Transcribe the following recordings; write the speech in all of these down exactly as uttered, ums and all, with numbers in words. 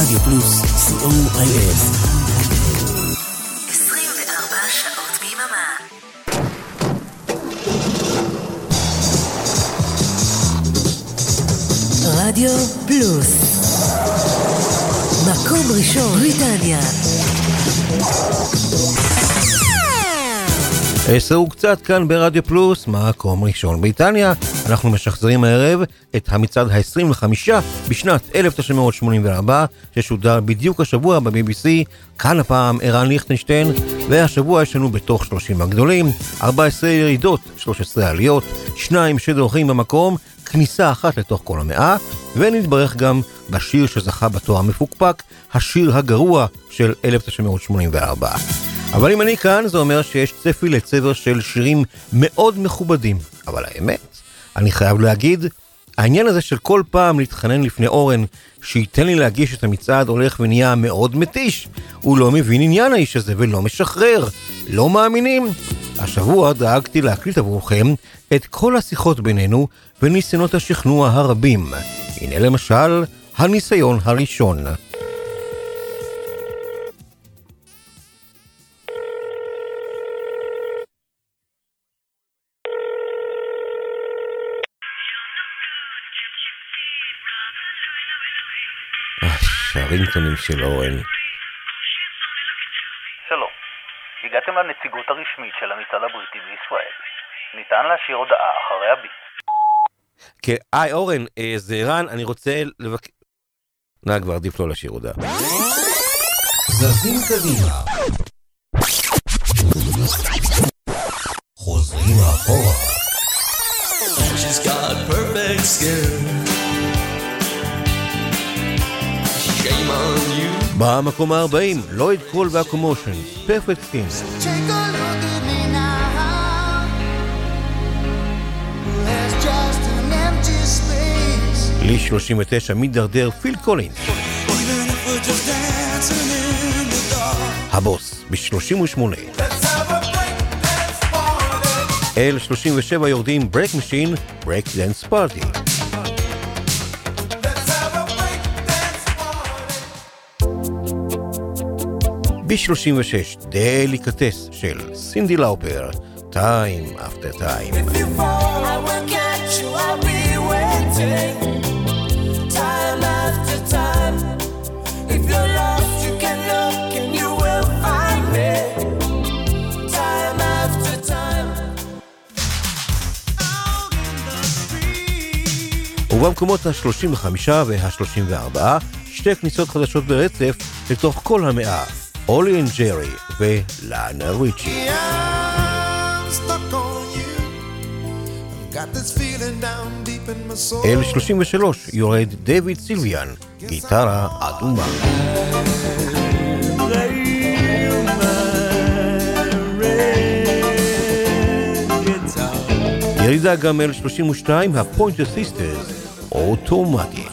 רדיו פלוס, סי או איי אס. עשרים וארבע שעות ביממה. רדיו פלוס, מקום ראשון בריטניה. עשר וקצת כאן ברדיו פלוס, מקום ראשון בריטניה. אנחנו משחזרים הערב את המצעד ה-עשרים וחמש בשנת אלף תשע מאות שמונים וארבע, ששודר בדיוק השבוע ב-בי בי סי. כאן הפעם ערן ליכטנשטיין, והשבוע יש לנו בתוך שלושים הגדולים ארבע עשרה ירידות, שלוש עשרה עליות, שניים שדורכים במקום, כניסה אחת לתוך כל המאה, ונתברך גם בשיר שזכה בתואר המפוקפק, השיר הגרוע של אלף תשע מאות שמונים וארבע. אבל אם אני כאן, זה אומר שיש צפי לצבר של שירים מאוד מכובדים. אבל האמת, אני חייב להגיד, העניין הזה של כל פעם להתחנן לפני אורן שייתן לי להגיש את המצעד הולך ונהיה מאוד מתיש. הוא לא מבין עניין האיש הזה ולא משחרר. לא מאמינים? השבוע דאגתי להקליט עבורכם את כל השיחות בינינו וניסיונות השכנוע הרבים. הנה למשל, הניסיון הראשון. הרינגטונים של אורן. שלום, הגעתם לנציגות הרשמית של המצעד הבריטי בישראל. ניתן להשאיר הודעה אחרי הביט. כן, היי אורן, זה ערן, אני רוצה לבק... נא כבר עדיף לא להשאיר הודעה. זזים קדימה, חוזרים אחורה. She's got perfect skin. במקום ה-ארבעים, לויד קול והקומושן, פרפקט סקין. לי שלושים ותשע מדרדר פיל קולינס. הבוס ב-שלושים ושמונה. אל שלושים ושבע יורדים ברק משין, ברק דנס פארטי. ב-שלושים ושש, דליקטס של סינדי לאופר, Time After Time. If you fall, I will catch you, I'll be waiting. Time after time. If you're lost, you can look and you will find me. Time after time. Out in the street. ובמקומות ה-שלושים וחמש וה-שלושים וארבע, שתי כניסות חדשות ברצף לתוך כל המאה. אולי אנד ג'רי ולאנה ריצ'י. אל שלושים ושלוש יורד דיוויד סילביאן, גיטרה אדומה. ירידה גם אל שלושים ושתיים, הפוינטר סיסטרס, אוטומטיק.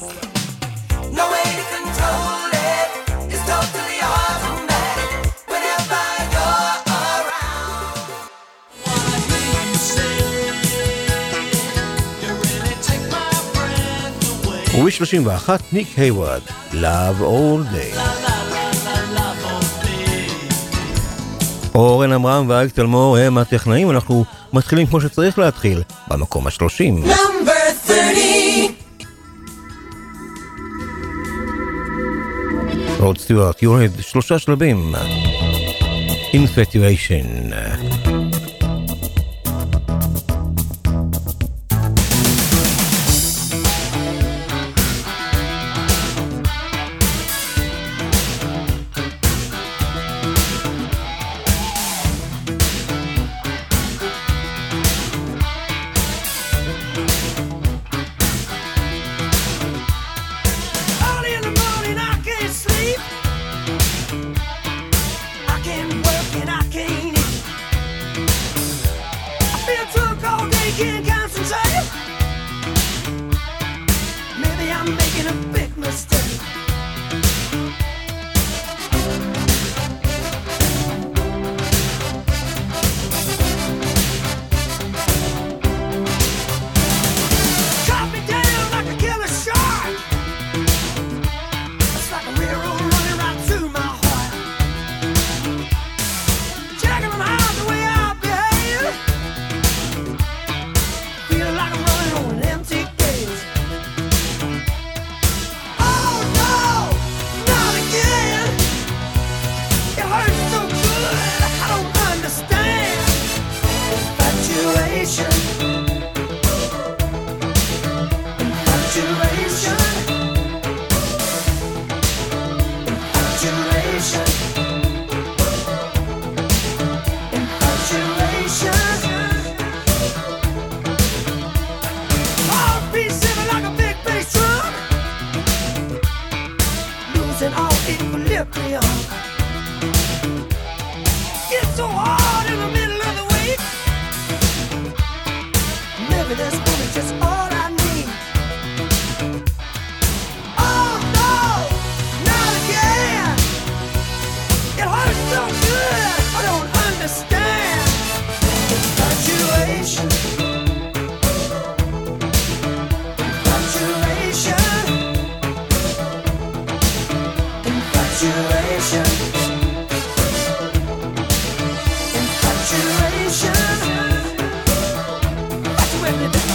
וב-שלושים ואחת ניק היוורד, Love All Day. אורן אמרם ואייק תלמור הם הטכנאים. אנחנו מתחילים כמו שצריך להתחיל, במקום ה-שלושים. Number thirty. רוד סטיוארט יורד שלושה שלבים. Infatuation. It's like a railroad flip me on. It's so hard in the middle of the week. Maybe this woman's just all I need. Oh no, not again. It hurts so good, I don't understand. Infatuation. Infatuation. Infatuation. Infatuation. That's where it is.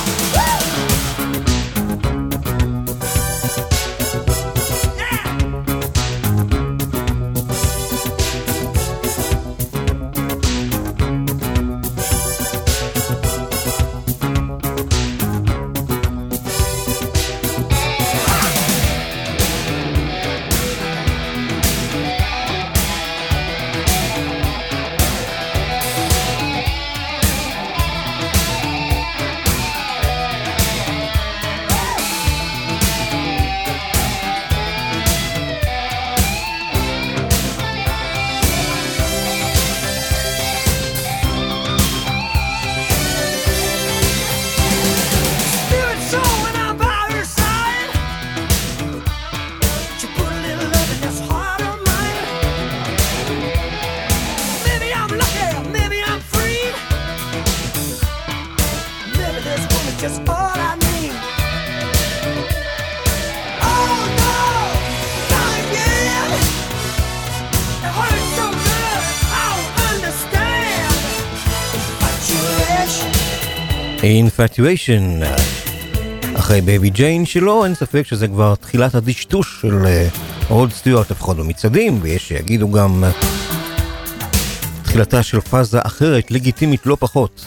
Infatuation, אחרי בייבי ג'יין שלו, אין ספק שזה כבר תחילת הדשטוש של רוד סטיוארט, לפחות במצעדים, ויש שיגידו גם תחילתה של פאזה אחרת, לגיטימית לא פחות.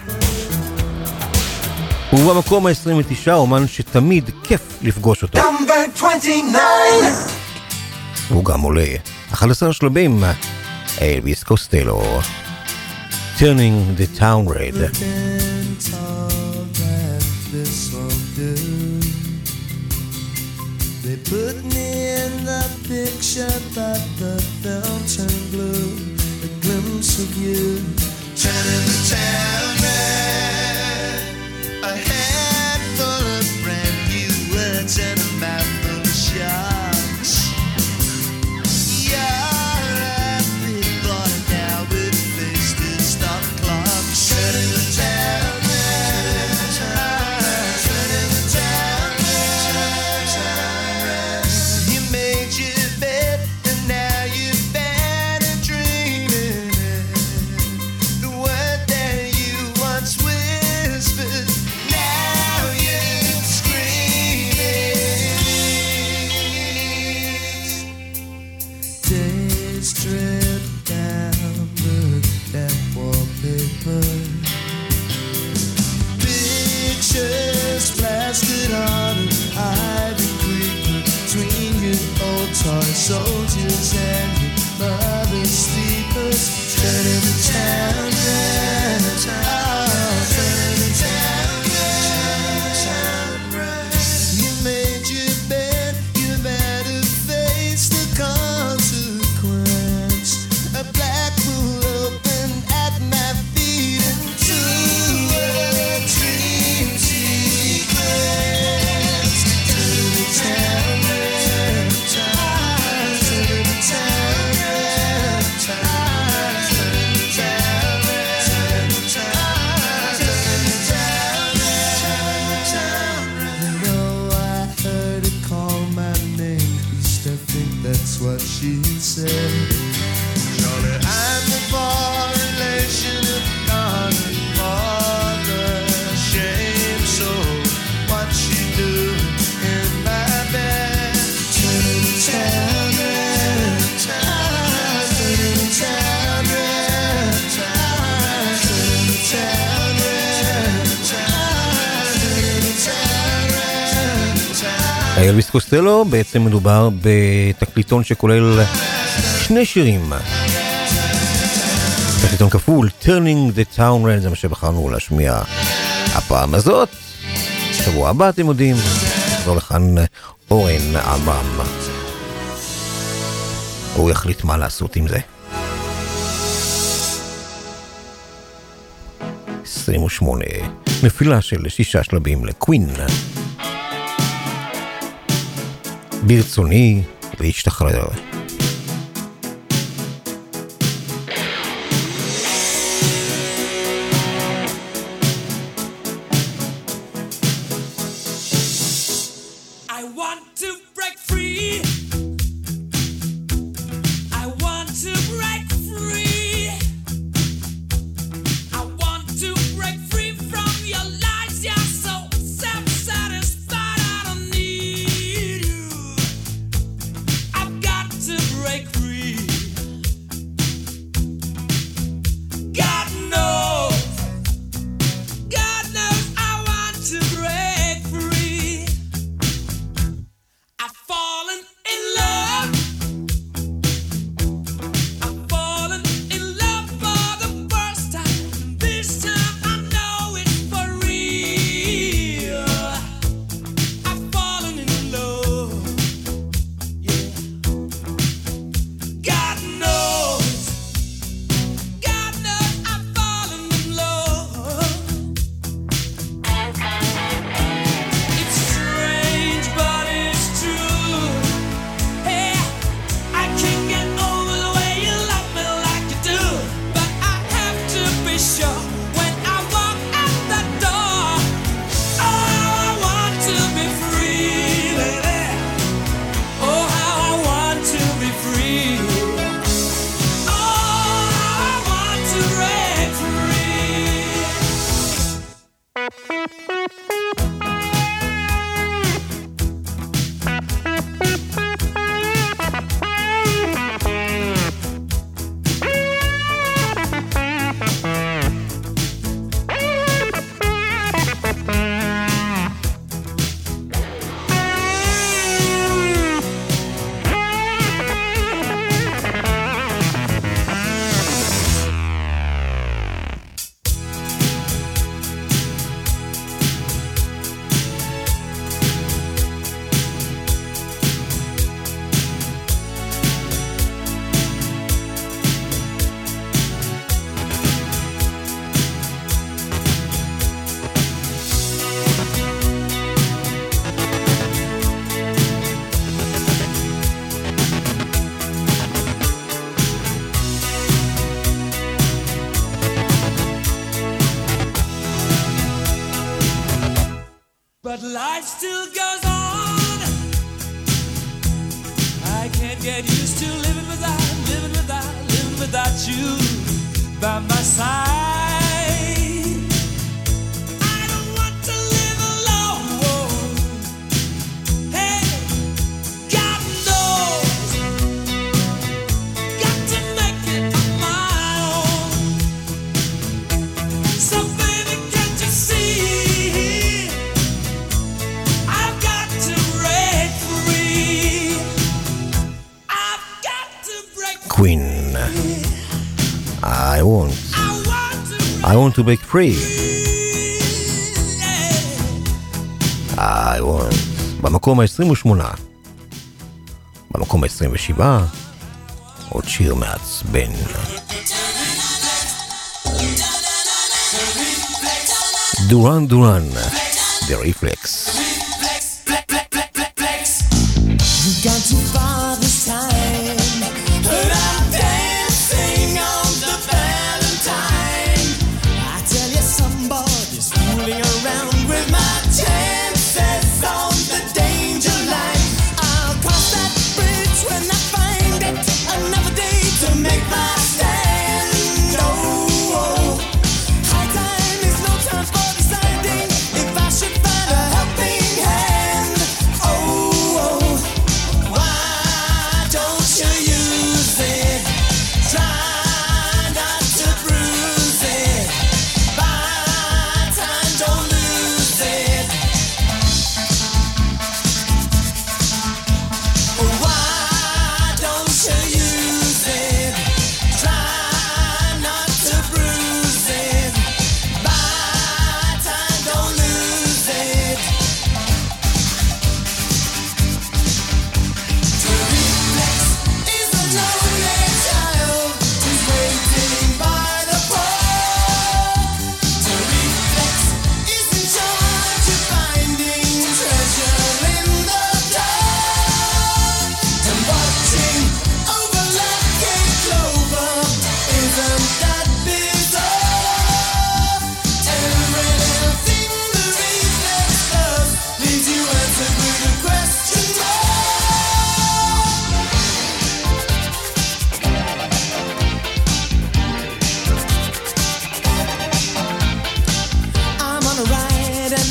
ובמקום ה-עשרים ותשע, אומן שתמיד כיף לפגוש אותו. הוא גם עולה אחד עשר שלבים, אלוויס קוסטלו, Turning the Town Red. They put me in the picture, but the film turned blue. A glimpse of you, turning the town red. A head full of brand new words and a mouth full of shots. You're a big boy now with a face to stop clocks. Turning the town red, turning the town red. You made your bed and now you're bad and dreaming it. The word that you once whispered, now you're screaming. Days drip down the cat wallpaper. Pictures plastered on an ivy creeper between your old toy soldiers and your mother's sleepers. Turning the town red, oh, turning the town red. You made your bed, you better face the consequence. A black pool opened at my feet into a dream sequence. Turning the town red, turning the town red, turning the town red, turning the town red. You know I heard her call my name. Used to think that's what she said. Surely I'm the far relation of Donna, all the shame. So what she doing in my bed? Turning the town red, turning the town red, turning the town red, turning the town red. אלוויס קוסטלו, בעצם מדובר בתקליטון שכולל שני שירים. תקליטון כפול, Turning the Town Red, זה מה שבחרנו להשמיע הפעם הזאת. שבוע הבא אתם יודעים, זו לכאן אורן עמם. הוא יחליט מה לעשות עם זה. עשרים ושמונה, נפילה של שישה שלבים לקווין. ברצוני להשתחרר. But life still goes on. I can't get used to living without, living without, living without you by my side. I don't want to live alone. Hey, God knows, got to make it on my own. So baby, can't you see? Queen. I want. I want to break free. I want. במקום ה-עשרים ושמונה. במקום ה-עשרים ושבע. עוד שיר מעצבן. דורן דורן. The Reflex. You've gone too far this time, but I'm dancing on the Valentine. I tell you, somebody's fooling around with my chances on the danger line. I'll cross that bridge when I find it. Another day to make my stand. Oh, oh. High time is no time for deciding if I should find a helping hand. Oh, oh.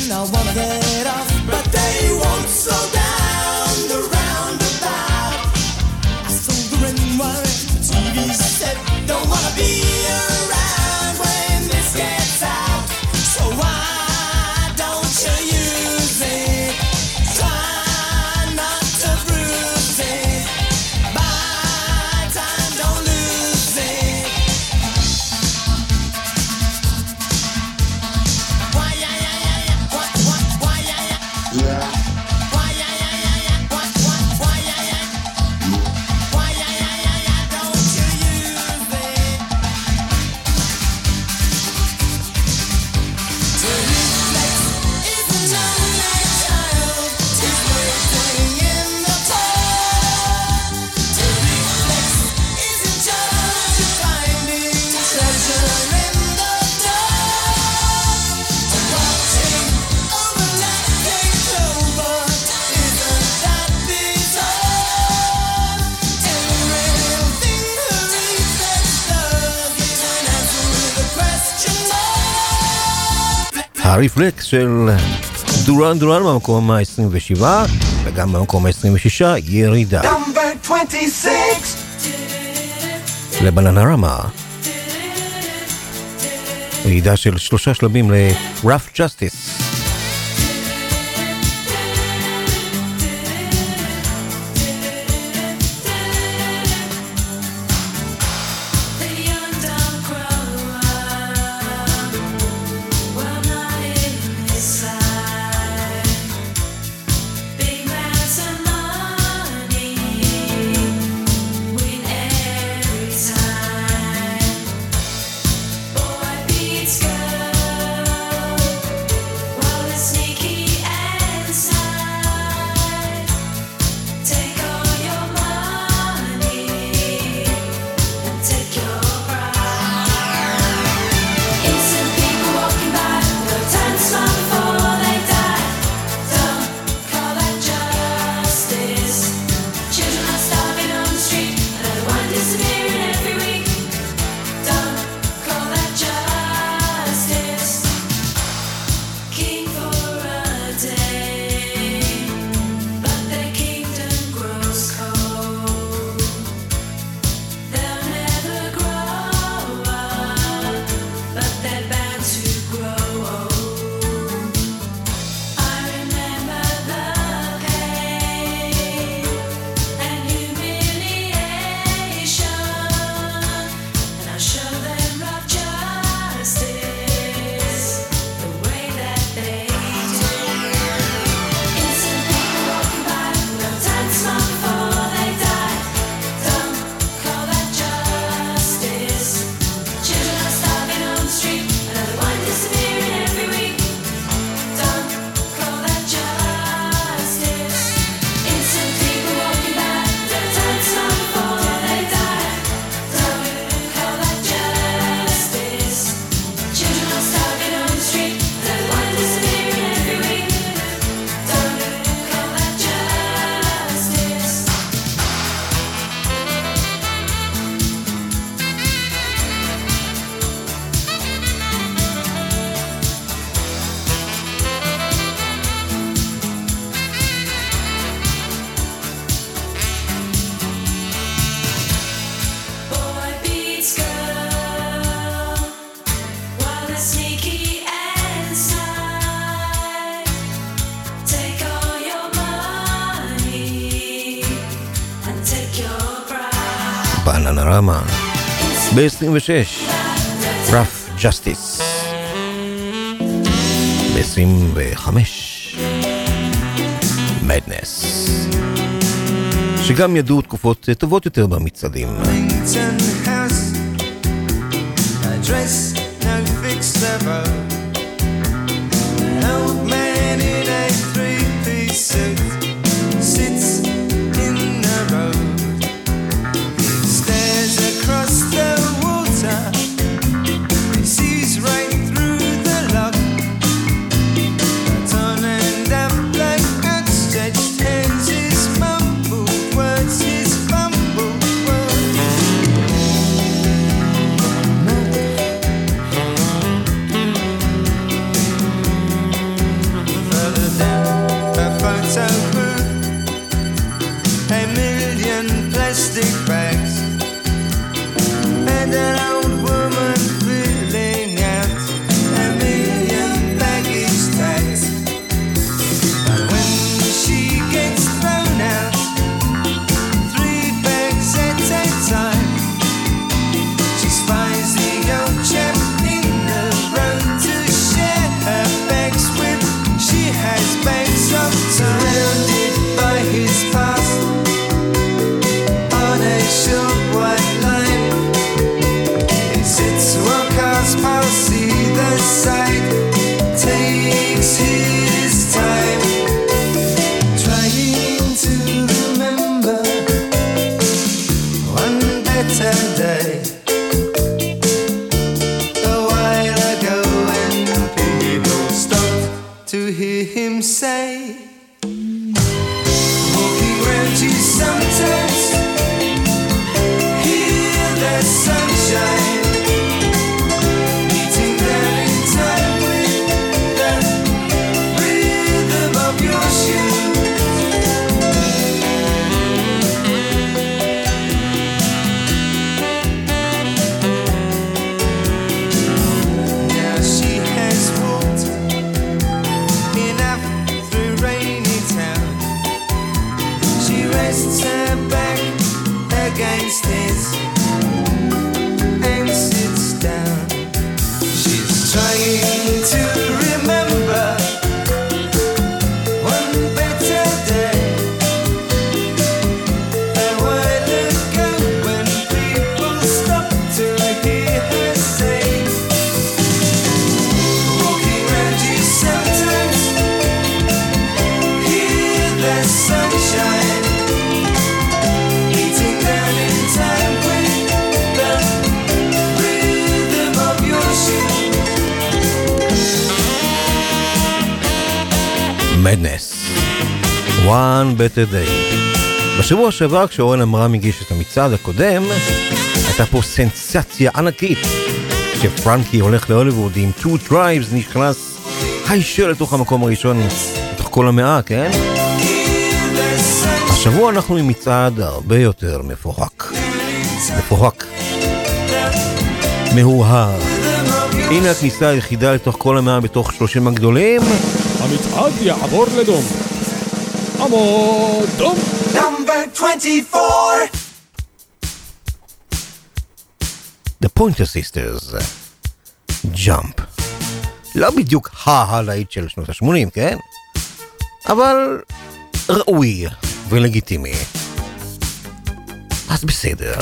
I wanna get off, but they won't slow down the roundabout. I sold the ring wire, the T V set, don't wanna be around when this gets out. So why don't you use it? Try not to bruise it. Buy time, don't lose it. Why yeah yeah yeah yeah? What what? Why yeah yeah? Why yeah yeah yeah yeah? What what? Why yeah yeah? Why yeah yeah yeah yeah? Don't you use it? To reflex is an unlike child. It's waiting in the cold. To reflex isn't just finding treasure in the dark. To watching overlapping clover isn't that bizarre. Everything who reflex does is an answer with a question mark. הרפלקס של דורן דורן במקום ה-עשרים ושבע וגם במקום ה-עשרים ושש ירידה Number twenty-six. לבננרמה. ירידה של שלושה שלבים ל-Rough Justice. The young don't grow up, well not inside. Big amounts of money win every time. Boy beats girl, while the sneaky inside. Take all your money and take your pride. Innocent people walking by, no time to smile before they die. Don't call that justice. Children are starving on the street, another one disappearing every week. Don't call that justice. King for a day, but their kingdom grows cold. They'll never grow up, but they're bound to grow old. I remember the pain and humiliation, and I'll show them rough justice the way that they do. Innocent people walking by, no time to smile before they die. Don't call that justice. Children are starving on the street, another one disappearing every week. Don't call that justice. Innocent people walking by, no time to smile before they die. Don't call that justice. Children are starving on the street, another one disappearing every week. Don't call that justice. Boy beats girl, while the sneaky inside. Take all your money and take your pride. בננרמה. ב-עשרים ושש Rough Justice. ב-עשרים וחמש Madness. שגם ידעו תקופות טובות יותר במצעדים. Wellington House, address no fixed level. An old man in a three-piece suit sits in the road. He stares across the water. He sees right through the lock. But on and up like outstretched hands, his mumbled words, his fumbled words. so rude. A million plastic bags and an old woman filling out a million baggage tags. But when she gets thrown out, three bags at a time, she spies the old chap in the road to share her bags with. She has bags of surrounded by his past on a short white line. He sits while cars pass either side, takes his time, trying to remember one better day. A while ago when people stopped to hear him say, walking round you sometimes, hear the sunshine beating down in time with the rhythm of your shoes. Now she has walked enough through rainy town. She rests her back against his and sits down. She's trying to remember one better day. A while ago when people stopped to hear her say, walking round you sometimes, hear the sunshine beating down in time with the rhythm of your shoes. מדנס, One Better Day. בשבוע שעבר כשאורן אמרם הגיש את המצעד הקודם, הייתה פה סנסציה ענקית שפרנקי הולך להוליווד עם Two Tribes נכנס הישר לתוך המקום הראשון לתוך כל המאה, כן? השבוע אנחנו עם מצעד הרבה יותר מפוחק מפוחק מהורהר. הנה הכניסה היחידה לתוך כל המאה בתוך שלושים הגדולים. המצעד יעבור לדום. עמוד דום. Number twenty-four. The Pointer Sisters, Jump. לא בדיוק הלהיט של שנות ה-שמונים, כן? אבל ראוי ולגיטימי. אז בסדר.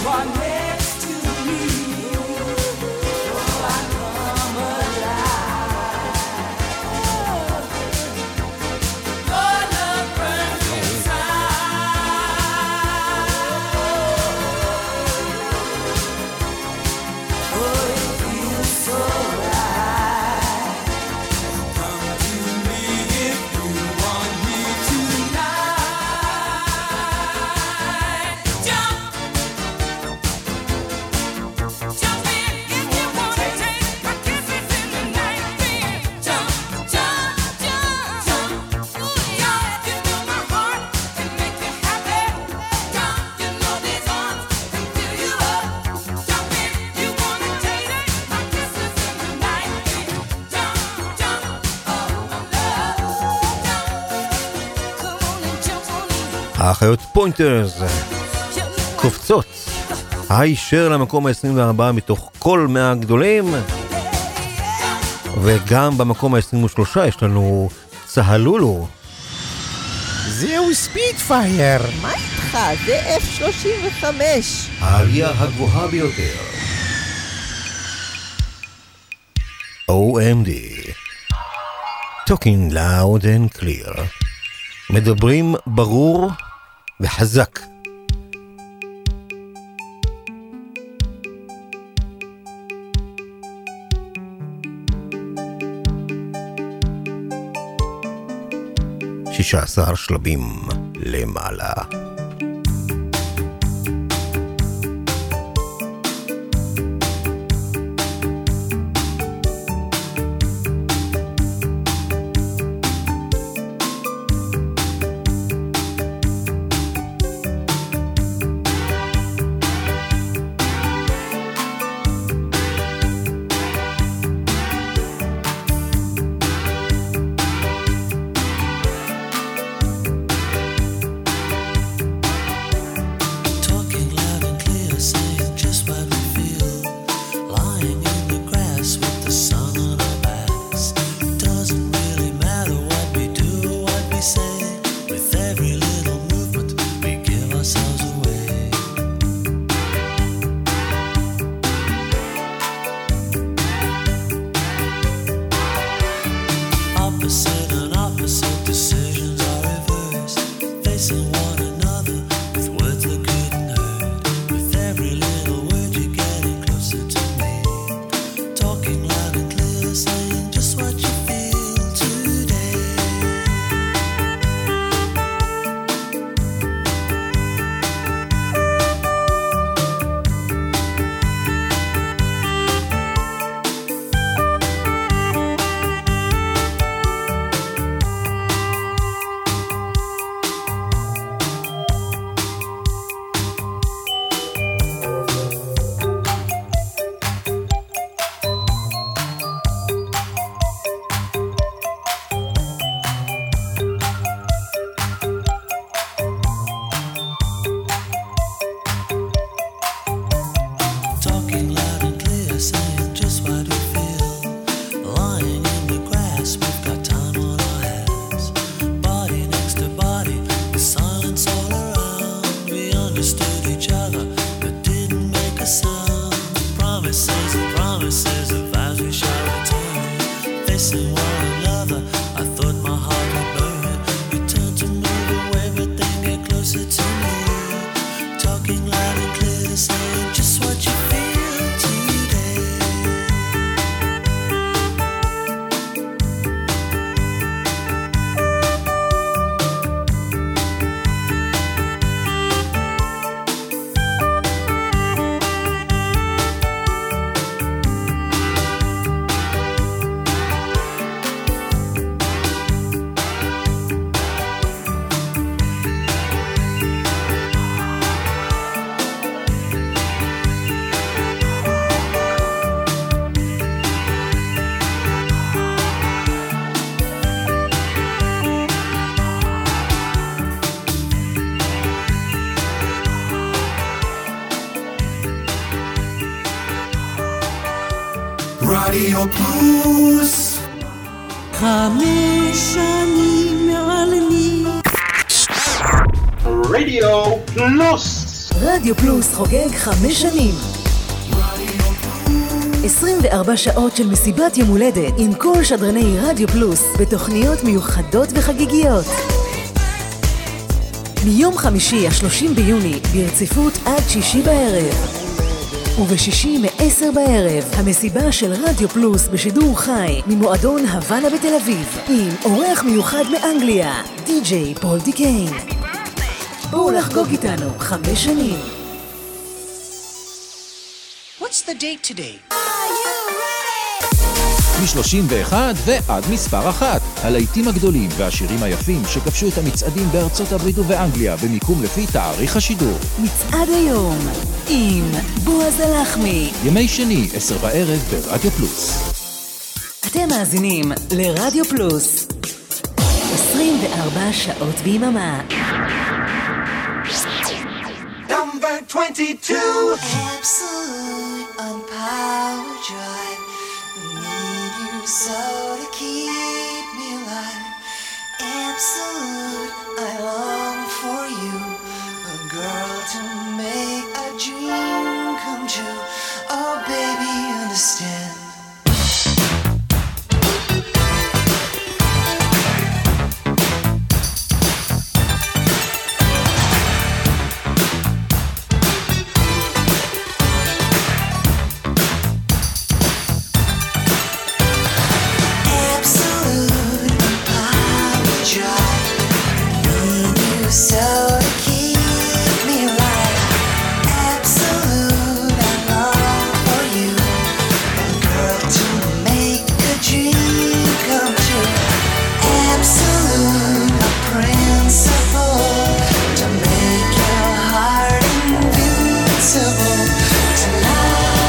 are next to me. Oh, I come alive. Your love burns inside. Oh, it feels so right. Come to me if you want me tonight. Jump, jump in if you wanna take my kisses in the night. Jump, jump, jump, jump. Yeah, you know my heart can make you happy. Jump, you know these arms can fill you up. Jump in, you wanna take my kisses in the night. Jump, jump, oh my love. Jump, come on and jump on in. האחיות פוינטרס קופצות הישר למקום ה-עשרים וארבע מתוך כל מאה הגדולים, וגם במקום ה-עשרים ושלוש יש לנו צהלולו. זהו ספידפייר. מה איתך? זה אף שלושים וחמש. העלייה הגבוהה ביותר. או אם די Talking loud and clear. מדברים ברור וחזק. שישה עשר שלבים למעלה. Talking loud and clear, saying just what we feel. Lying in the grass with the sun on our backs. Doesn't really matter what we do or what we say. With every little movement, we give ourselves away. Opposite and opposite decisions are reversed. Facing one another with words that couldn't hurt. With every little word you're getting closer to me. Talking loud and clear, saying just what you feel today. Talking loud and clear, saying just what we feel. Lying in the grass, we've got time on our hands. Body next to body, with silence all around. We understood each other, but didn't make a sound. Promises and promises of vows we shall return. Facing one another, I thought my heart would burn. You turned to move away, but then get closer to me. Talking loud and clear, saying just what you feel today. רדיו פלוס חמש שנים מעלמי רדיו פלוס רדיו פלוס חוגג חמש שנים. עשרים וארבע שעות של מסיבת יום הולדת עם כל שדרני רדיו פלוס בתוכניות מיוחדות וחגיגיות. מיום חמישי השלושים ביוני ברציפות עד שישי בערב. ובשישי מעשר בערב המסיבה של רדיו פלוס בשידור חי ממועדון הוואנה בתל אביב עם אורח מיוחד מאנגליה, די-ג'יי פול דיקיין. בואו לחגוג איתנו חמש שנים. What's the date today? מ-שלושים ואחת ועד מספר אחת. הלהיטים הגדולים והשירים היפים שכבשו את המצעדים בארצות הברית ובאנגליה במיקום לפי תאריך השידור. מצעד היום עם בועז הלחמי. ימי שני, עשר בערב ברדיו פלוס. אתם מאזינים לרדיו פלוס. עשרים וארבע שעות ביממה. Number twenty-two. Absolute on power drive. Need you so to keep me alive. Absolute, I long for you. A girl to make a dream come true. Oh baby, understand. So to keep me alive, absolute, I long for you. A girl to make a dream come true. Absolute, a principle to make your heart invincible. Tonight.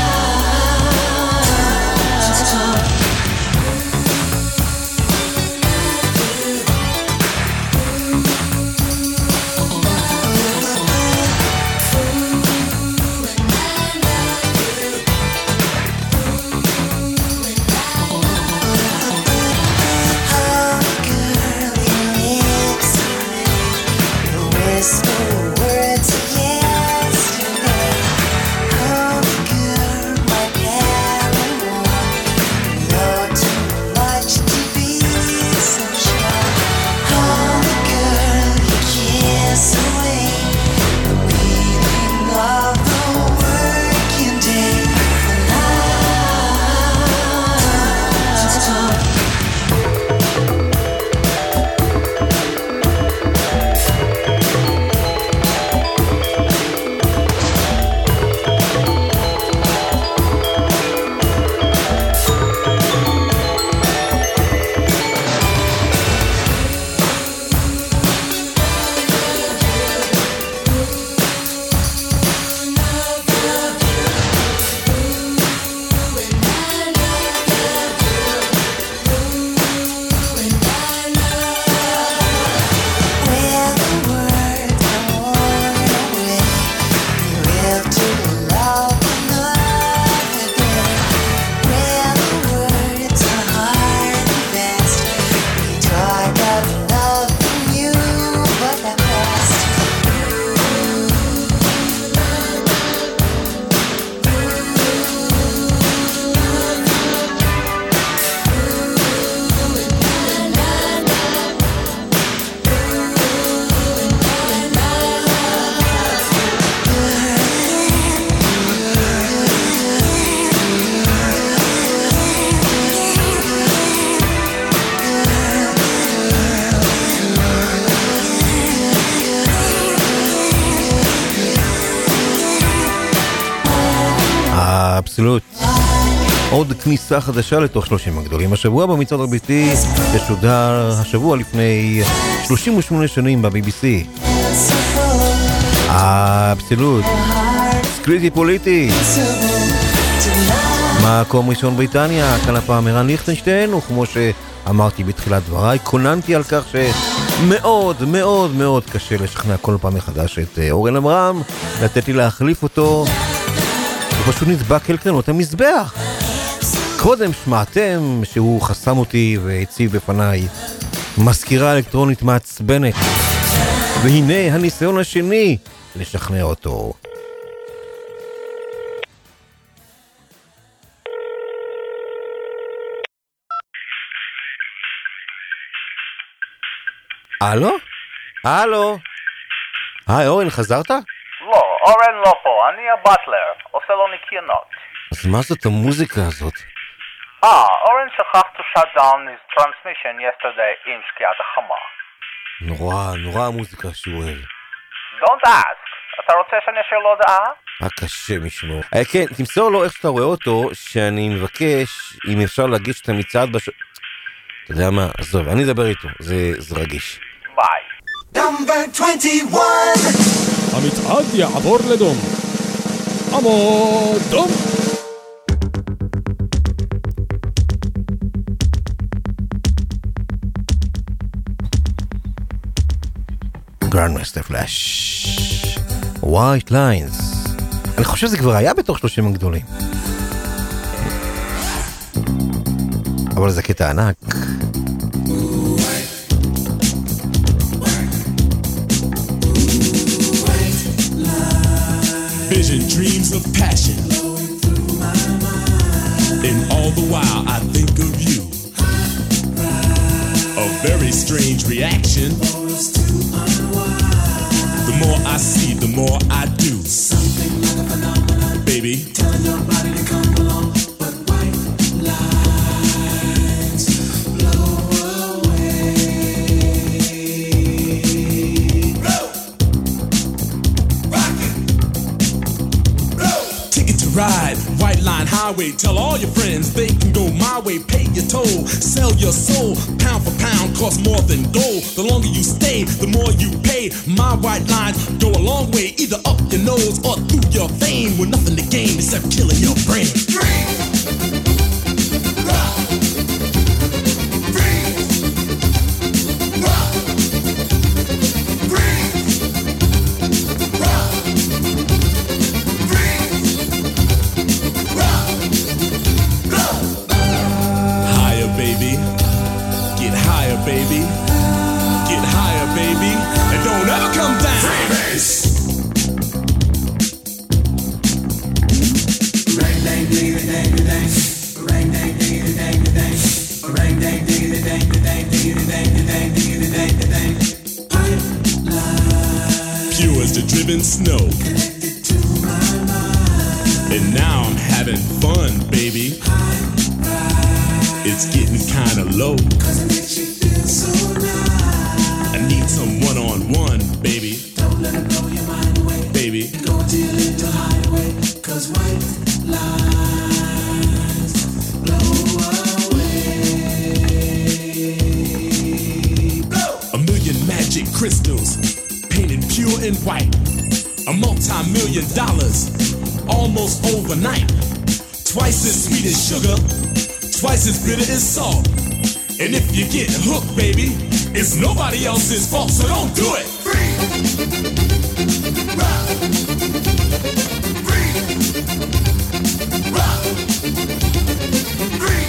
אבסולוט. עוד כניסה חדשה לתוך שלושים הגדולים. השבוע במצעד הביתי ששודר השבוע לפני שלושים ושמונה שנים ב-בי בי סי. אבסולוט. סקריטי פוליטי. מקום ראשון בריטניה, כאן הפעם ערן ליכטנשטיין, וכמו שאמרתי בתחילת דבריי, קוננתי על כך שמאוד מאוד מאוד קשה לשכנע כל פעם מחדש את אורן עמרם, לתת לי להחליף אותו, הוא פשוט נדבק אל קרנות המזבח. קודם שמעתם שהוא חסם אותי והציב בפניי מזכירה אלקטרונית מעצבנת, והנה הניסיון השני לשכנע אותו. הלו? הלו? היי, אורן, חזרת? לא, אורן לא פה, אני הבטלר, עושה לו ניקיונות. אז מה זאת המוזיקה הזאת? אה, אורן שכח to shut down his transmission yesterday עם שקיעת החמה. נורא, נורא המוזיקה שהוא אוהב. Don't ask. אתה רוצה שאני אשאיר לו הודעה? רק קשה משמור. אה, כן, תמסור לו איך שאתה רואה אותו, שאני מבקש, אם אפשר להגיש את המצעד בש... אתה יודע מה? עזוב, אני אדבר איתו, זה, זה רגיש. ביי. Number twenty-one. המצעד יעבור לדום. עמוד דום. Grandmaster Flash White Lines. אני חושב שזה כבר היה בתוך שלושים הגדולים, אבל זה קטע ענק. Vision, dreams of passion, and all the while I think of you. A very strange reaction. The more I see, the more I do. Something like a phenomenon, baby. Telling your body to come along, but white lines blow away. Blow, rock it, blow. Ticket to ride, White Line Highway. Tell all your friends they can go my way. Pay your toll, sell your soul. Pound for pound, costs more than gold. The longer you stay, the more you pay. My white lines go a long way, either up your nose or through your vein, with nothing to gain except killing your brain. Dream. Rock. Freeze. Rock. Freeze. Rock. Freeze. Rock. Go. Higher, baby. Get higher, baby. Get higher, baby. And don't ever come down. Freebase. Ring dang ding dang dang. Ring dang ding dang dang. Ring dang ding dang dang dang dang dang dang. Pipeline. Pure as the driven snow. Connected to my mind. And now I'm having fun, baby. It's getting kinda low. Cause it makes you feel so nice. I need some one-on-one, baby. Don't let it blow your mind away, baby. Go to your little hideaway. Cause white lines blow away. Blow. A million magic crystals painted pure and white. A multi-million dollars almost overnight. Twice as sweet as sugar, twice as bitter as salt. And if you get hooked, baby, it's nobody else's fault, so don't do it. Free. Rock. Free. Rock. Free.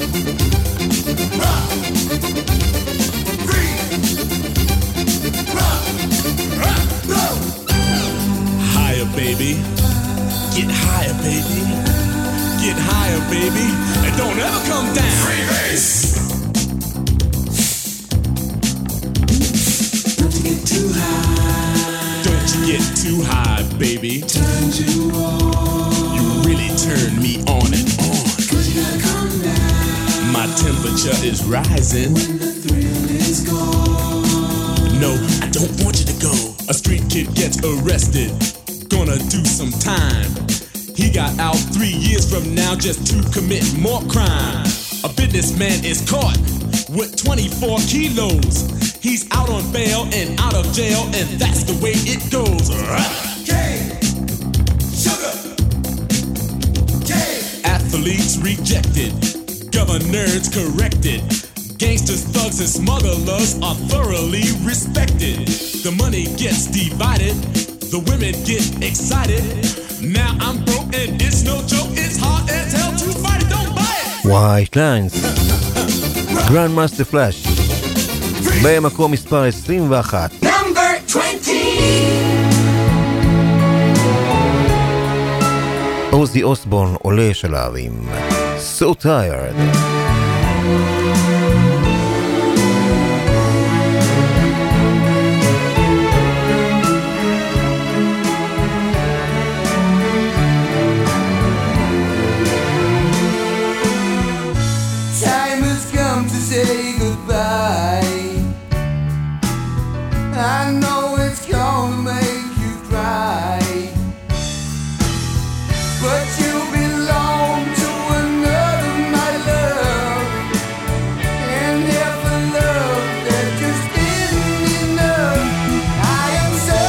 Rock. Free. Rock. Rock. Go. Higher, baby. Get higher, baby. Get higher, baby. And don't ever come down. Freebase. Too high. Don't you get too high, baby. Turn you on. You really turn me on and on. Cause you gotta come down. My temperature is rising. When the thrill is gone. No, I don't want you to go. A street kid gets arrested. Gonna do some time. He got out three years from now just to commit more crime. A businessman is caught with twenty-four kilos. He's out on bail and out of jail, and that's the way it goes. Cane, sugar, cane. Athletes rejected, governors corrected. Gangsters, thugs, and smugglers are thoroughly respected. The money gets divided, the women get excited. Now I'm broke and it's no joke, it's hard as hell to fight it, don't buy it. White Lines, Grandmaster Flash. במקום מספר עשרים ואחת. Number twenty. עוזי אוסבורן עולה שלב עם So Tired. Time has come to say goodbye. I know it's gonna make you cry, but you belong to another, my love. And if a love that just isn't enough, I am so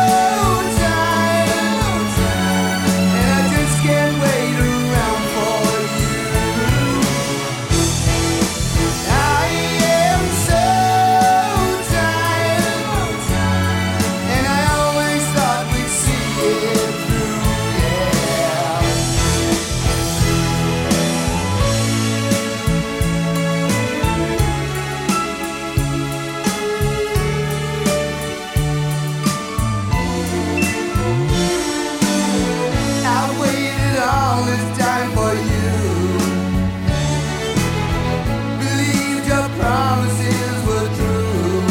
tired, and I just can't wait around for you. I am so tired, and I always thought we'd see it through, yeah. I waited all this time for you, believed your promises were true.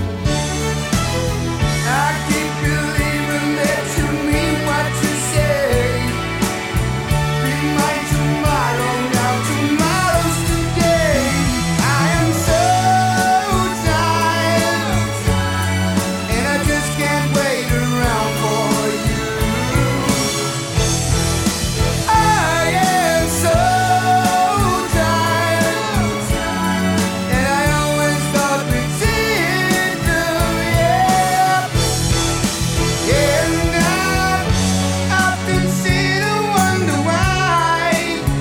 I keep believing that you mean what you say. Be my tomorrow, now tomorrow's today. I am so tired, and I just can't wait around for you. I am so tired, and I always thought we'd see it through, yeah. And I often sit and wonder why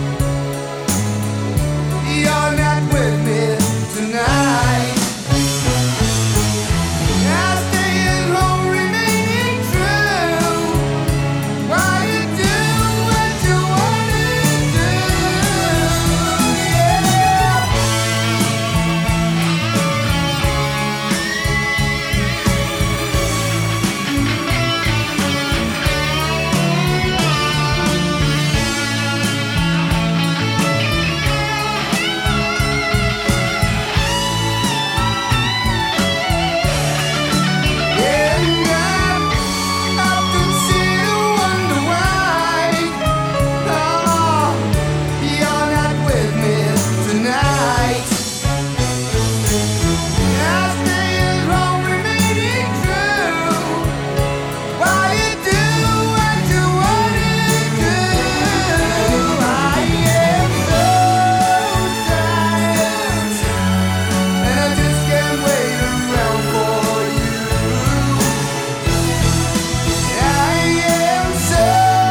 you're not with me tonight. I stay at home remaining true, while you do what you wanna do, yeah. And I often sit and wonder why, oh, you're not with me tonight. I stay at home remaining true, while you do what you wanna do. I am so tired, and I just can't wait around for you. I am so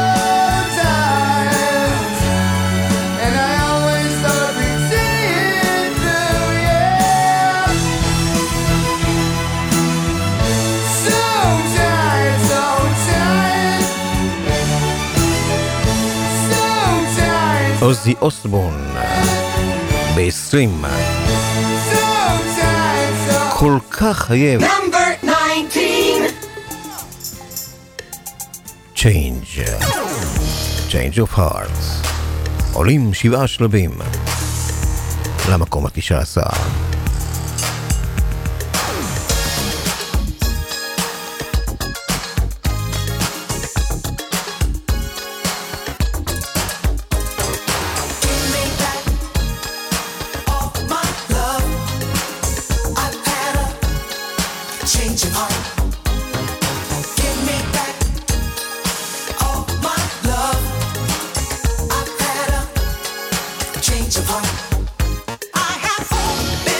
tired, and I always thought we'd see it through, yeah. So tired, so tired, so tired, עוזי אוסבורן ב-עשרים. so tired, so כל כך חייב Number nineteen. Change. Change of Hearts. עולים שבעה שלבים למקום התשע עשר. Give me back all my love. I've had a change of heart. Give me back all my love. I've had a change of heart. I have been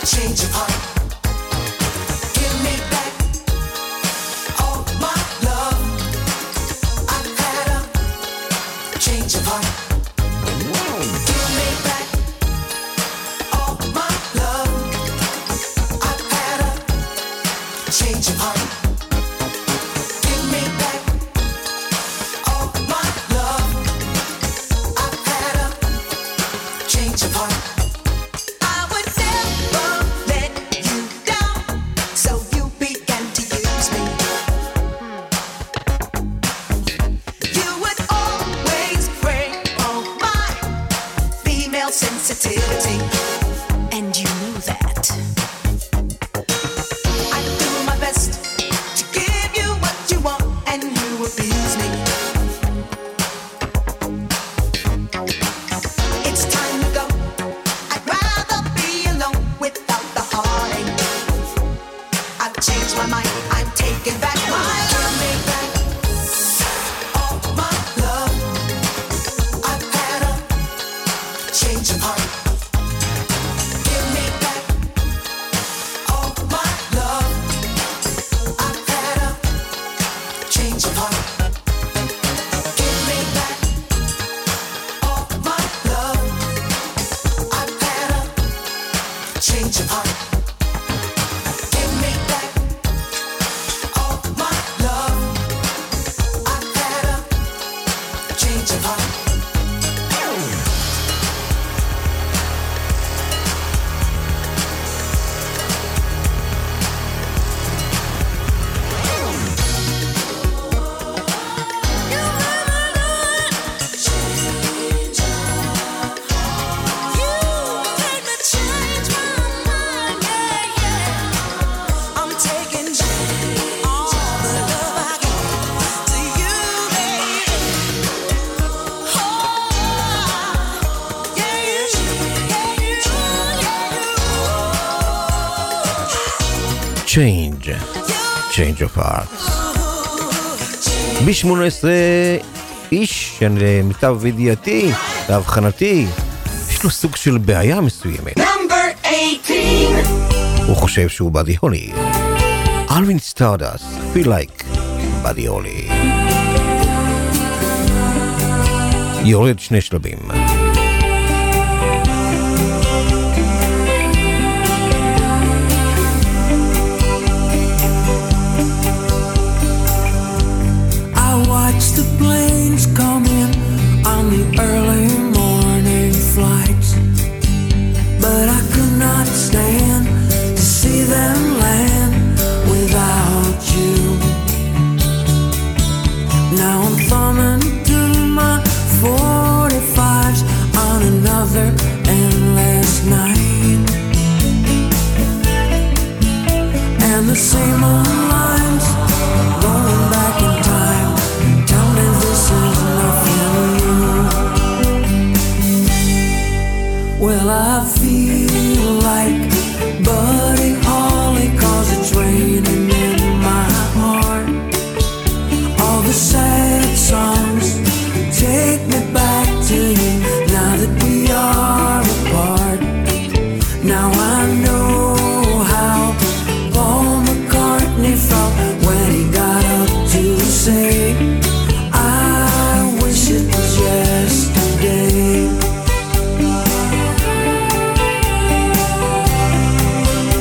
change of heart. Give me back all my love. I've had a change of heart. Give me back all my love. I've had a change of heart. Give me back all my love. I've had a change of heart. I would never let you down, so you began to use me. You would always break all my female sensitivity, and you knew that. I do my best to give you what you want, and you abuse me. It's time to go. I'd rather be alone without the heartache. I've changed my mind. I'm taking back my give me back all my love. I've had a change of heart. Give me back all my love. I've had a change of heart. Give me back all my love. I've had a change of heart. Give me back all my love. I've had a change of heart. I'm taking all the love I got to you, baby. Oh, yeah, you, yeah, you, yeah, Change, Change of Heart. ב-שמונה עשרה איש, למיטב ידיעתי, להבחנתי, יש לו סוג של בעיה מסוימת. Number eighteen. הוא חושב שהוא באדי הולי. אלווין סטארדסט, feel like באדי הולי. יורד שני שלבים. I watched the planes come in on the early morning flights, but I could not stand to see them land without you. Now I'm thumbing through my forty-fives on another endless night, and the same old lines going back in time tell me this is nothing new. Well, I feel like Buddy Holly, 'cause it's raining in my heart. All the sad songs take me back to you now that we are apart. Now I know how Paul McCartney felt when he got up to say, I wish it was yesterday.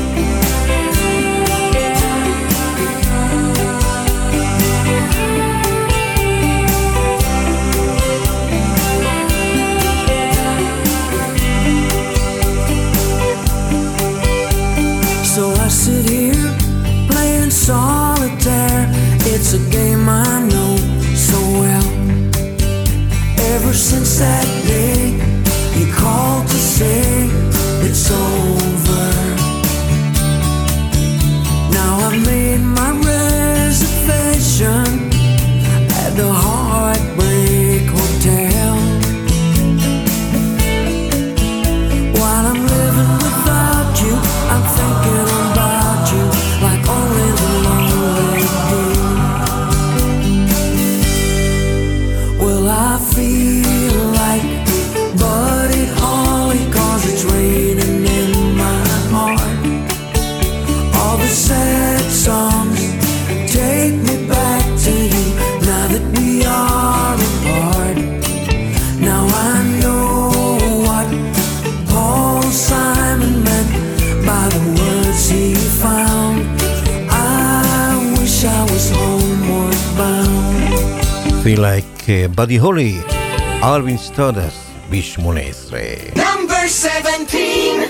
Me Like uh, Buddy Holly, אלווין סטארדסט ב-שמונה עשרה. Number seventeen.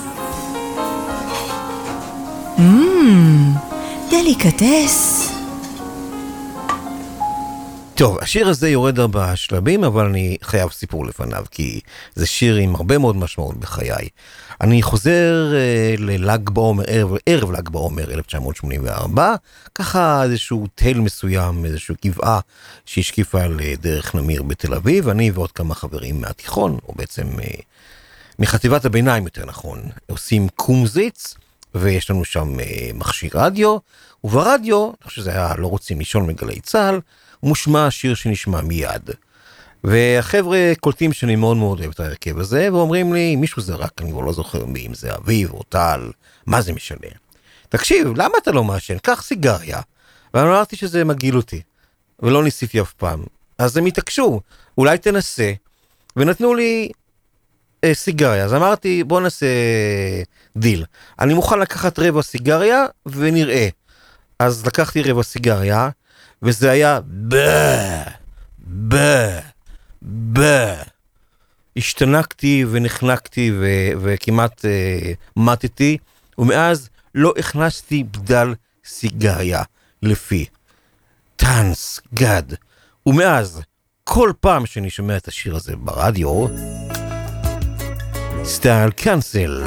Mmm, דליקטס. טוב, השיר הזה יורד ארבעה שלבים, אבל אני חייב סיפור לפניו, כי זה שיר עם הרבה מאוד משמעות בחיי. אני חוזר uh, לל"ג בעומר, ערב, ערב ל"ג בעומר אלף תשע מאות שמונים וארבע, ככה איזשהו תל מסוים, איזשהו גבעה שהשקיפה על דרך נמיר בתל אביב, אני ועוד כמה חברים מהתיכון, או בעצם uh, מחטיבת הביניים יותר נכון, עושים קומזיץ, ויש לנו שם uh, מכשיר רדיו, וברדיו, אני חושב שזה היה לא רוצים לישון מגלי צהל, מושמע שיר שנשמע מיד. והחבר'ה קולטים שאני מאוד מאוד אוהב את ההרכב הזה, ואומרים לי, מישהו זרק, אני כבר לא זוכר מי, אם זה אביב או טל, מה זה משנה? תקשיב, למה אתה לא מעשן? קח סיגריה. ואני אמרתי שזה מגעיל אותי, ולא ניסיתי אף פעם. אז הם התעקשו, אולי תנסה, ונתנו לי אה, סיגריה. אז אמרתי, בוא נעשה דיל. אני מוכן לקחת רבע סיגריה, ונראה. אז לקחתי רבע סיגריה, וזה היה בא, בא, בא. השתנקתי ונחנקתי ו- וכמעט uh, מתתי, ומאז לא הכנסתי בדל סיגריה לפי. טנס, גד. ומאז, כל פעם שאני שומע את השיר הזה ברדיו, סטייל קאנסל.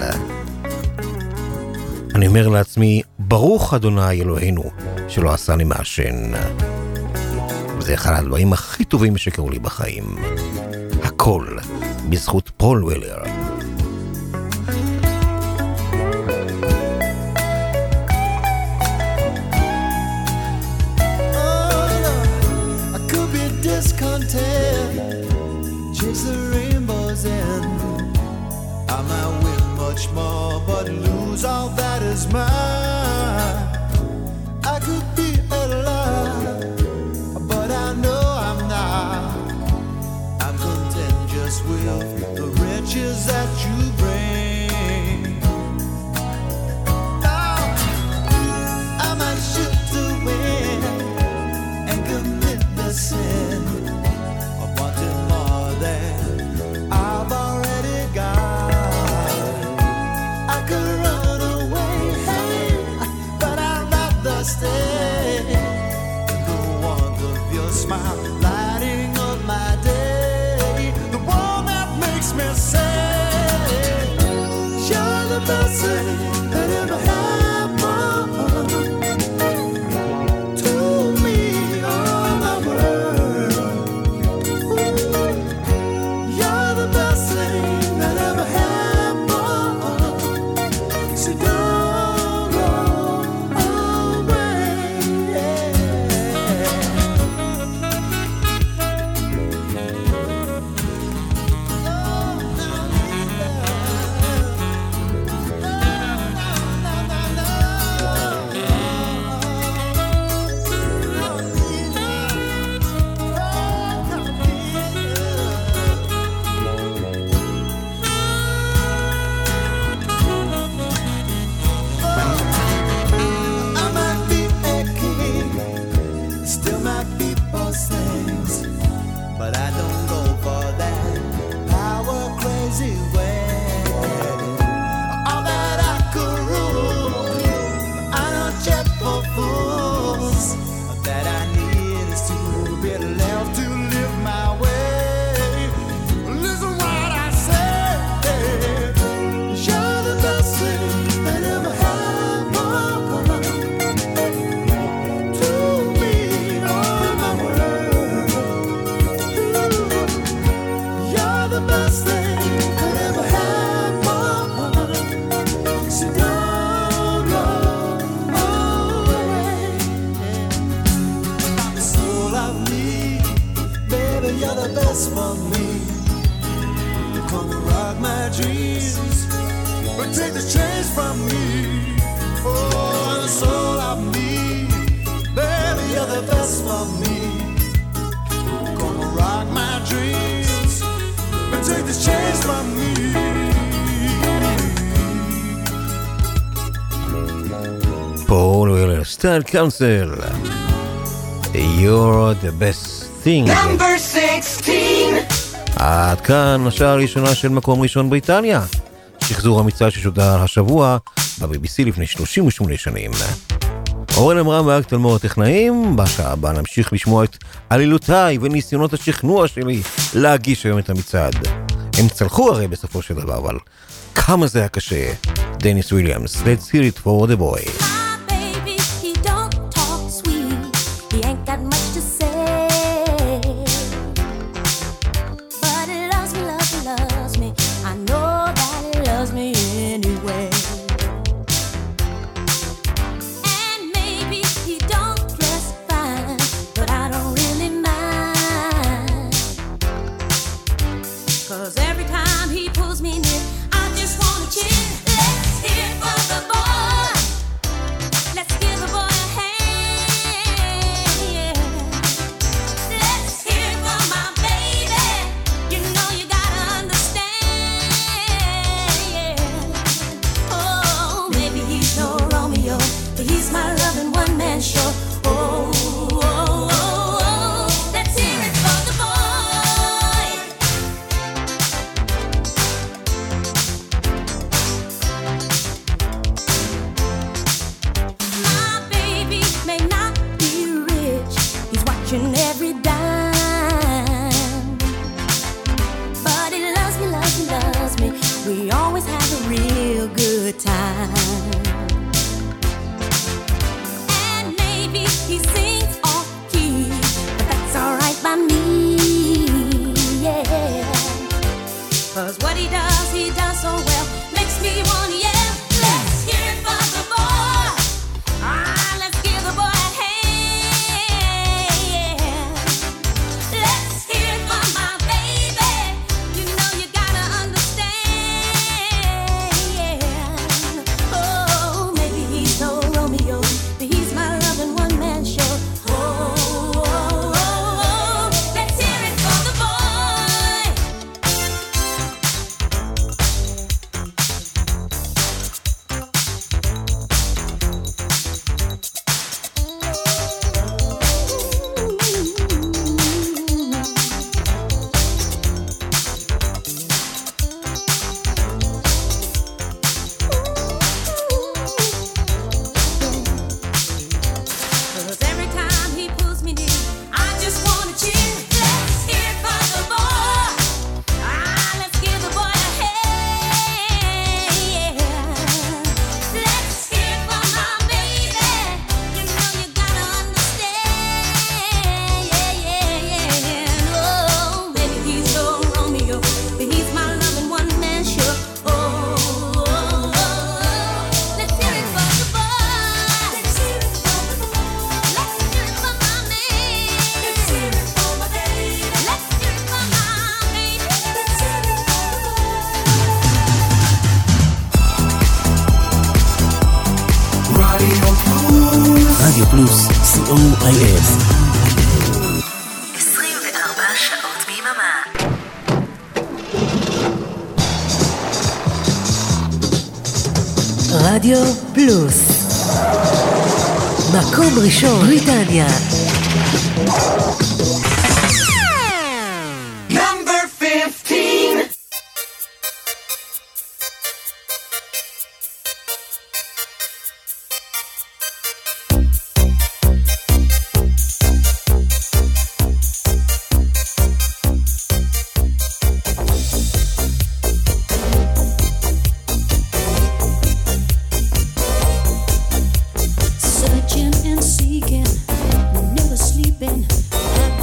אני אומר לעצמי, ברוך אדוני אלוהינו, שלא עשה לי מעשן. וזה אחד הדברים הכי טובים שקרו לי בחיים. הכל בזכות פול וולר. I could be discontent, chase the rainbows in. I might win much more, but lose all that is mine. I could be alive, but I know I'm not. I'm content just with the riches that you bring. Oh, I might shoot to win and commit the sin of wanting more than I've already got. I could run away, hey, but I'd rather stay in the warmth of your smile, lighting up my day, the one that makes me say, you're the best thing that ever happened to me, all my world. Ooh, you're the best thing that ever happened, so don't go away. I might be a king, still might be most things, but I don't go for that power crazy way. All that I could rule, I don't check for fools. That I need is to be left to live my way. Listen what I say, you're the best thing that ever happened to me, all my world. You're the best thing that ever happened, so don't go away. The soul of me, baby, you're the best for me. Come and rock my dreams, but take the chains from me. Oh, the soul of me, baby, you're the best for me. Come and rock my dreams, but take the chains from me. פול וולר, סטייל קאונסל. You're the best Thing. Number sixteen. עד כאן השעה הראשונה של מקום ראשון בריטניה. שחזור המצעד ששודר השבוע ב-בי בי סי לפני שלושים ושמונה שנים. אורן אמרה מאקט על מור הטכנאים, בשעה הבאה נמשיך לשמוע את עלילותיי וניסיונות השכנוע שלי להגיש היום את המצעד. הם צלחו הרי בסופו של דבר, אבל כמה זה היה קשה. דניס וויליאמס, Let's hear it for the boy. רדיו פלוס, סי או איי אס. עשרים וארבע שעות ביממה. רדיו פלוס, מקום ראשון בריטניה. Number fifteen. Searching and seeking, never sleeping.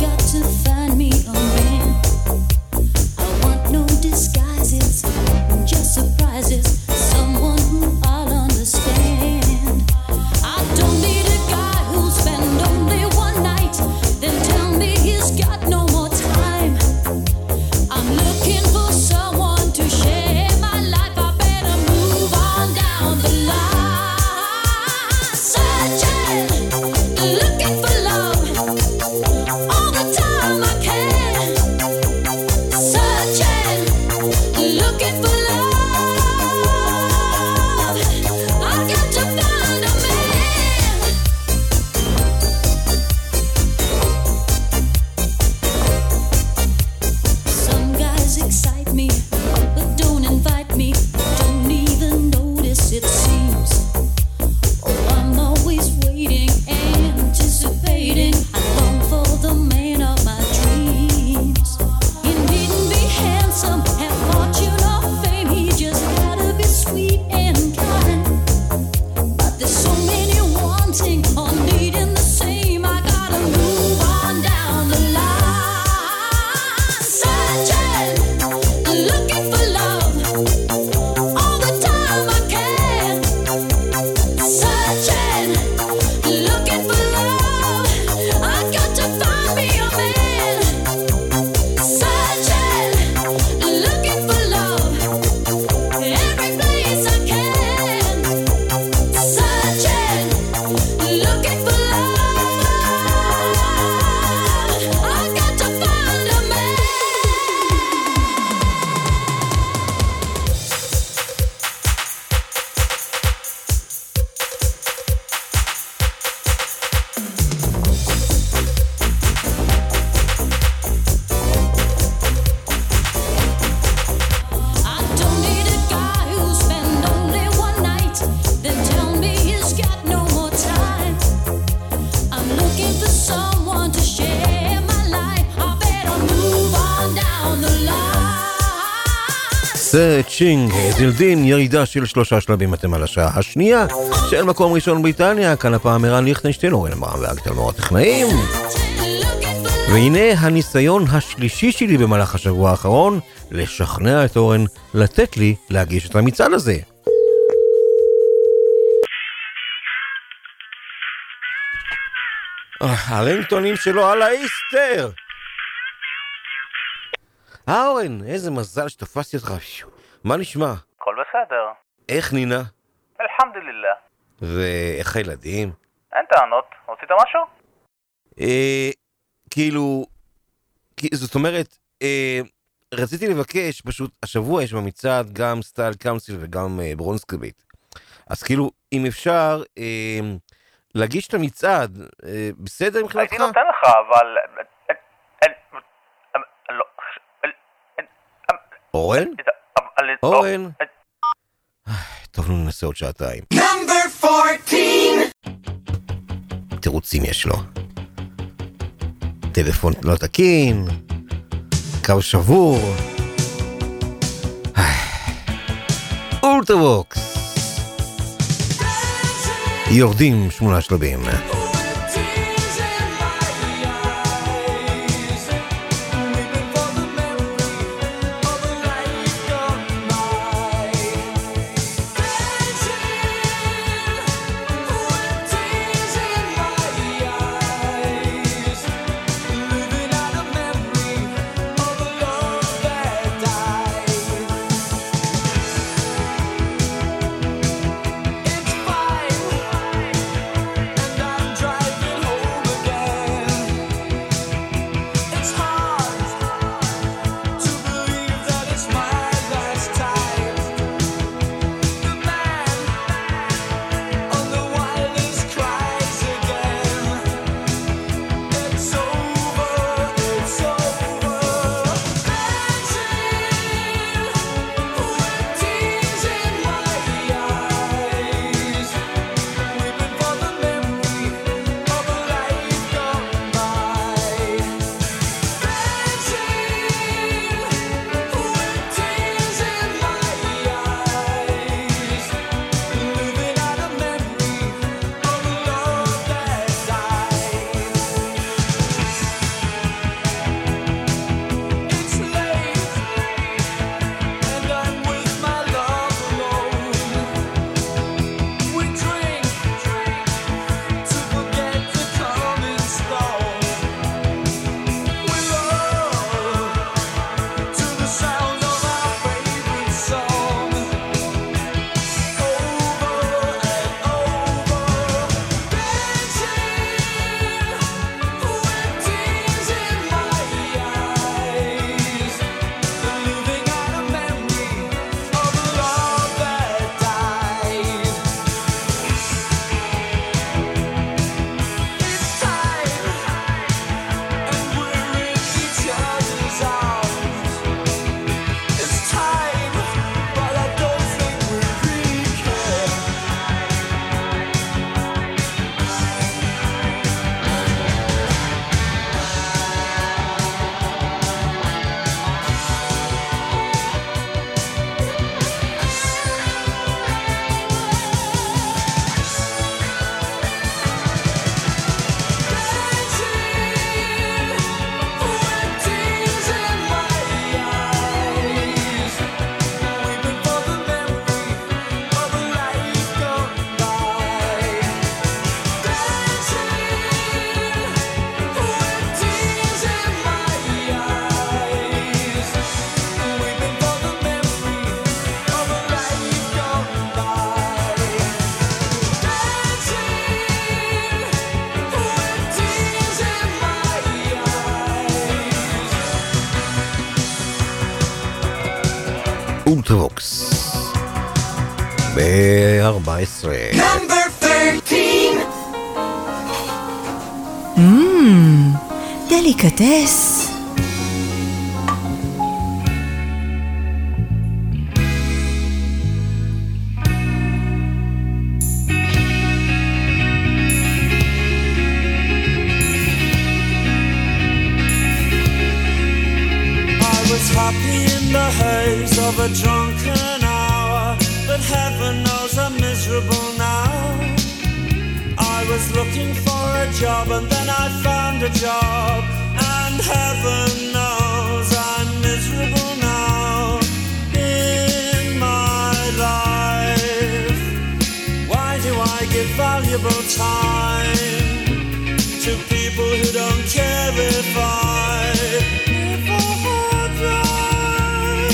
סרצ'ינג, זילדין, ירידה של שלושה שלבים אתם על השעה השנייה של מקום ראשון בריטניה, כאן הפעם ערן ליכטנשטיין, אורן אמרם ואגטלמור הטכנאים. והנה הניסיון השלישי שלי במהלך השבוע האחרון לשכנע את אורן לתת לי להגיש את המצעד הזה. הרינגטונים שלו על האיסטר. אה אורן, איזה מזל שתפסתי אותך. מה נשמע? הכל בסדר. איך נינה? אלחמדולילlah. ואיך הילדים? אין טענות. רצית משהו? אה, כאילו, זאת אומרת, אה, רציתי לבקש, פשוט השבוע יש במצעד גם סטייל קאונסיל וגם אה, ברונסקריבית. אז כאילו, אם אפשר אה, להגיש את המצעד, אה, בסדר מבחינתך? הייתי נותן לך, אבל... אורן? אורן? טוב, נו ננסה עוד שעתיים. Number fourteen. תירוצים יש לו. טלפון לא תקין, קו שבור. אולטרווקס. יורדים שמונה שלבים. אולטרווקס ב-ארבע עשרה. Number thirteen. Mmm, דליקטס. Happy in the haze of a drunken hour, but heaven knows I'm miserable now. I was looking for a job and then I found a job, and heaven knows I'm miserable now in my life. Why do I give valuable time to people who don't care if I live or die?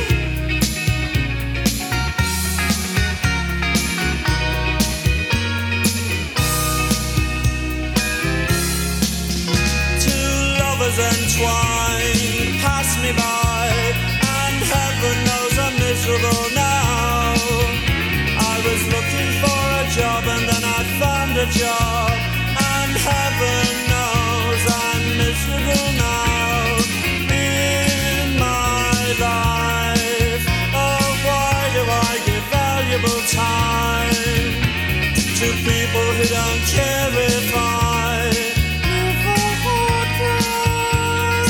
Two lovers entwined pass me by, and heaven knows I'm miserable now. I was looking for a job and then I found a job, and heaven knows I'm miserable now in my life. Oh, why do I give valuable time to people who don't care if I live or die?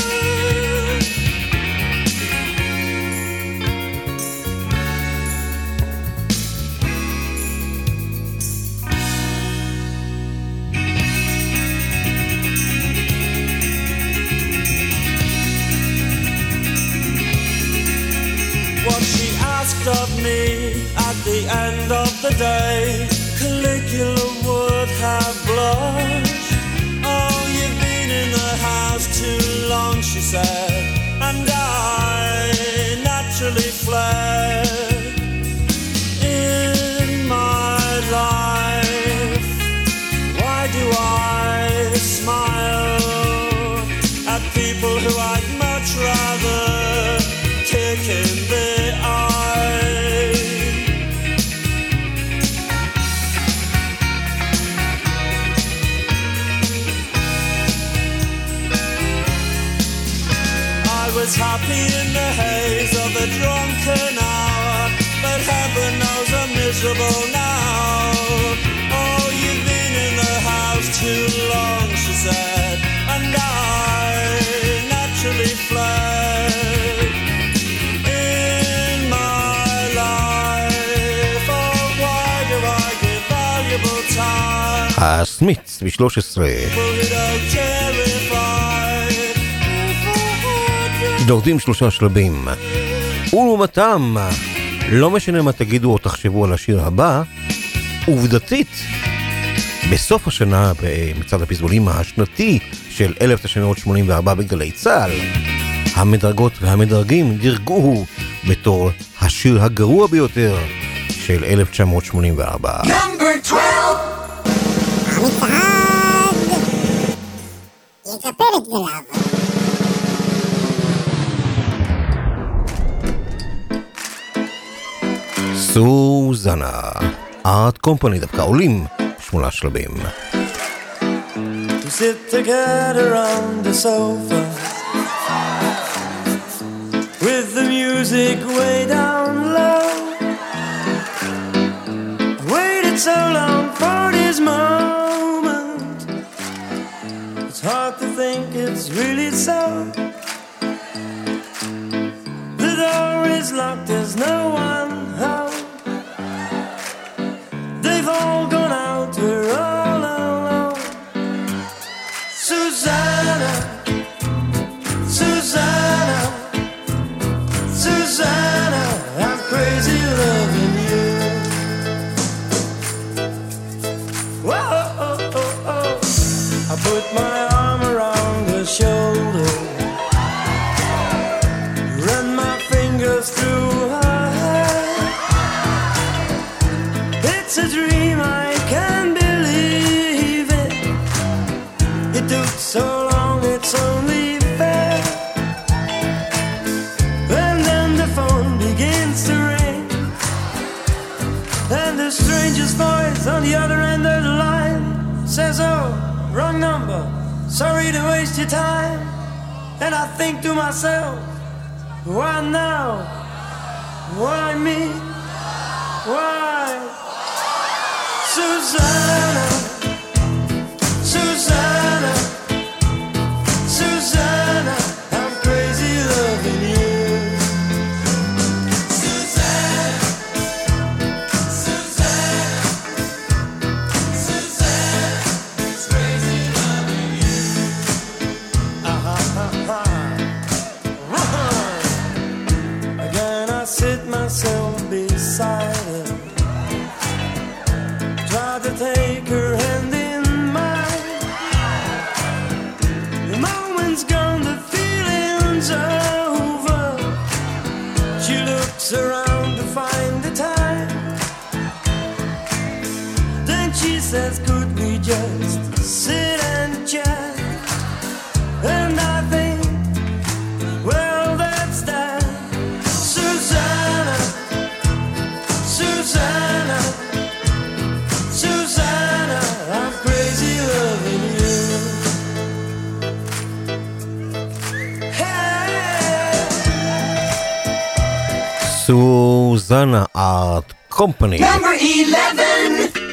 What she asked of me at the end of the day, Caligula would have blushed. Oh, you've been in the house too long, she said, and I naturally fled. In my life, why do I smile at people who I'd much rather kick in the eye? I was happy in the haze of a drunken hour, but heaven knows I'm miserable now. Oh, you've been in the house too long, she said, and I naturally fled. In my life, oh, why do I give valuable time הסמיץ ב-שלוש עשרה. people who don't care if I יורדים שלושה שלבים. ולעומתם, לא משנה מה תגידו או תחשבו על השיר הבא, עובדתית, בסוף השנה במצעד הפזמונים השנתי של אלף תשע מאות שמונים וארבע בגלי צה"ל, המדרגות והמדרגים דירגוהו בתור השיר הגרוע ביותר של אלף תשע מאות שמונים וארבע. Number twelve. המצעד יקפל את גליו. סוזנה, ארט קומפני, דווקא עולים שמונה שלבים. to sit together on the sofa with the music way down low. I waited so long for this moment, it's hard to think it's really so. The door is locked, there's no one home. They've all gone out, we're all alone. Susanna, Susanna, Susanna, I'm crazy loving you. Whoa, oh, oh, oh. I put my arm around her shoulder, run my fingers through her hair. It's a dream, I can't believe it. It took so long, it's only fair. And then the phone begins to ring, and the stranger's voice on the other end of the line says, oh, wrong number, sorry to waste your time. And I think to myself, why now? Why me? Why? Susanna, Susanna, Susanna, I'm crazy loving you. beside her. Tried to take her hand in mine. The moment's gone, the feeling's over. She looks around to find the time. Then she says, could we just sit and chat? And I think, well, that's that. Susanna, Susanna, Susanna, I'm crazy loving you. Hey. Susanna Art Company. Number eleven.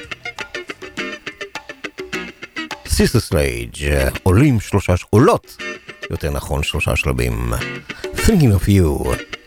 Sister Sledge, עולים שלושה, עולות, יותר נכון שלושה שלבים. Thinking of you.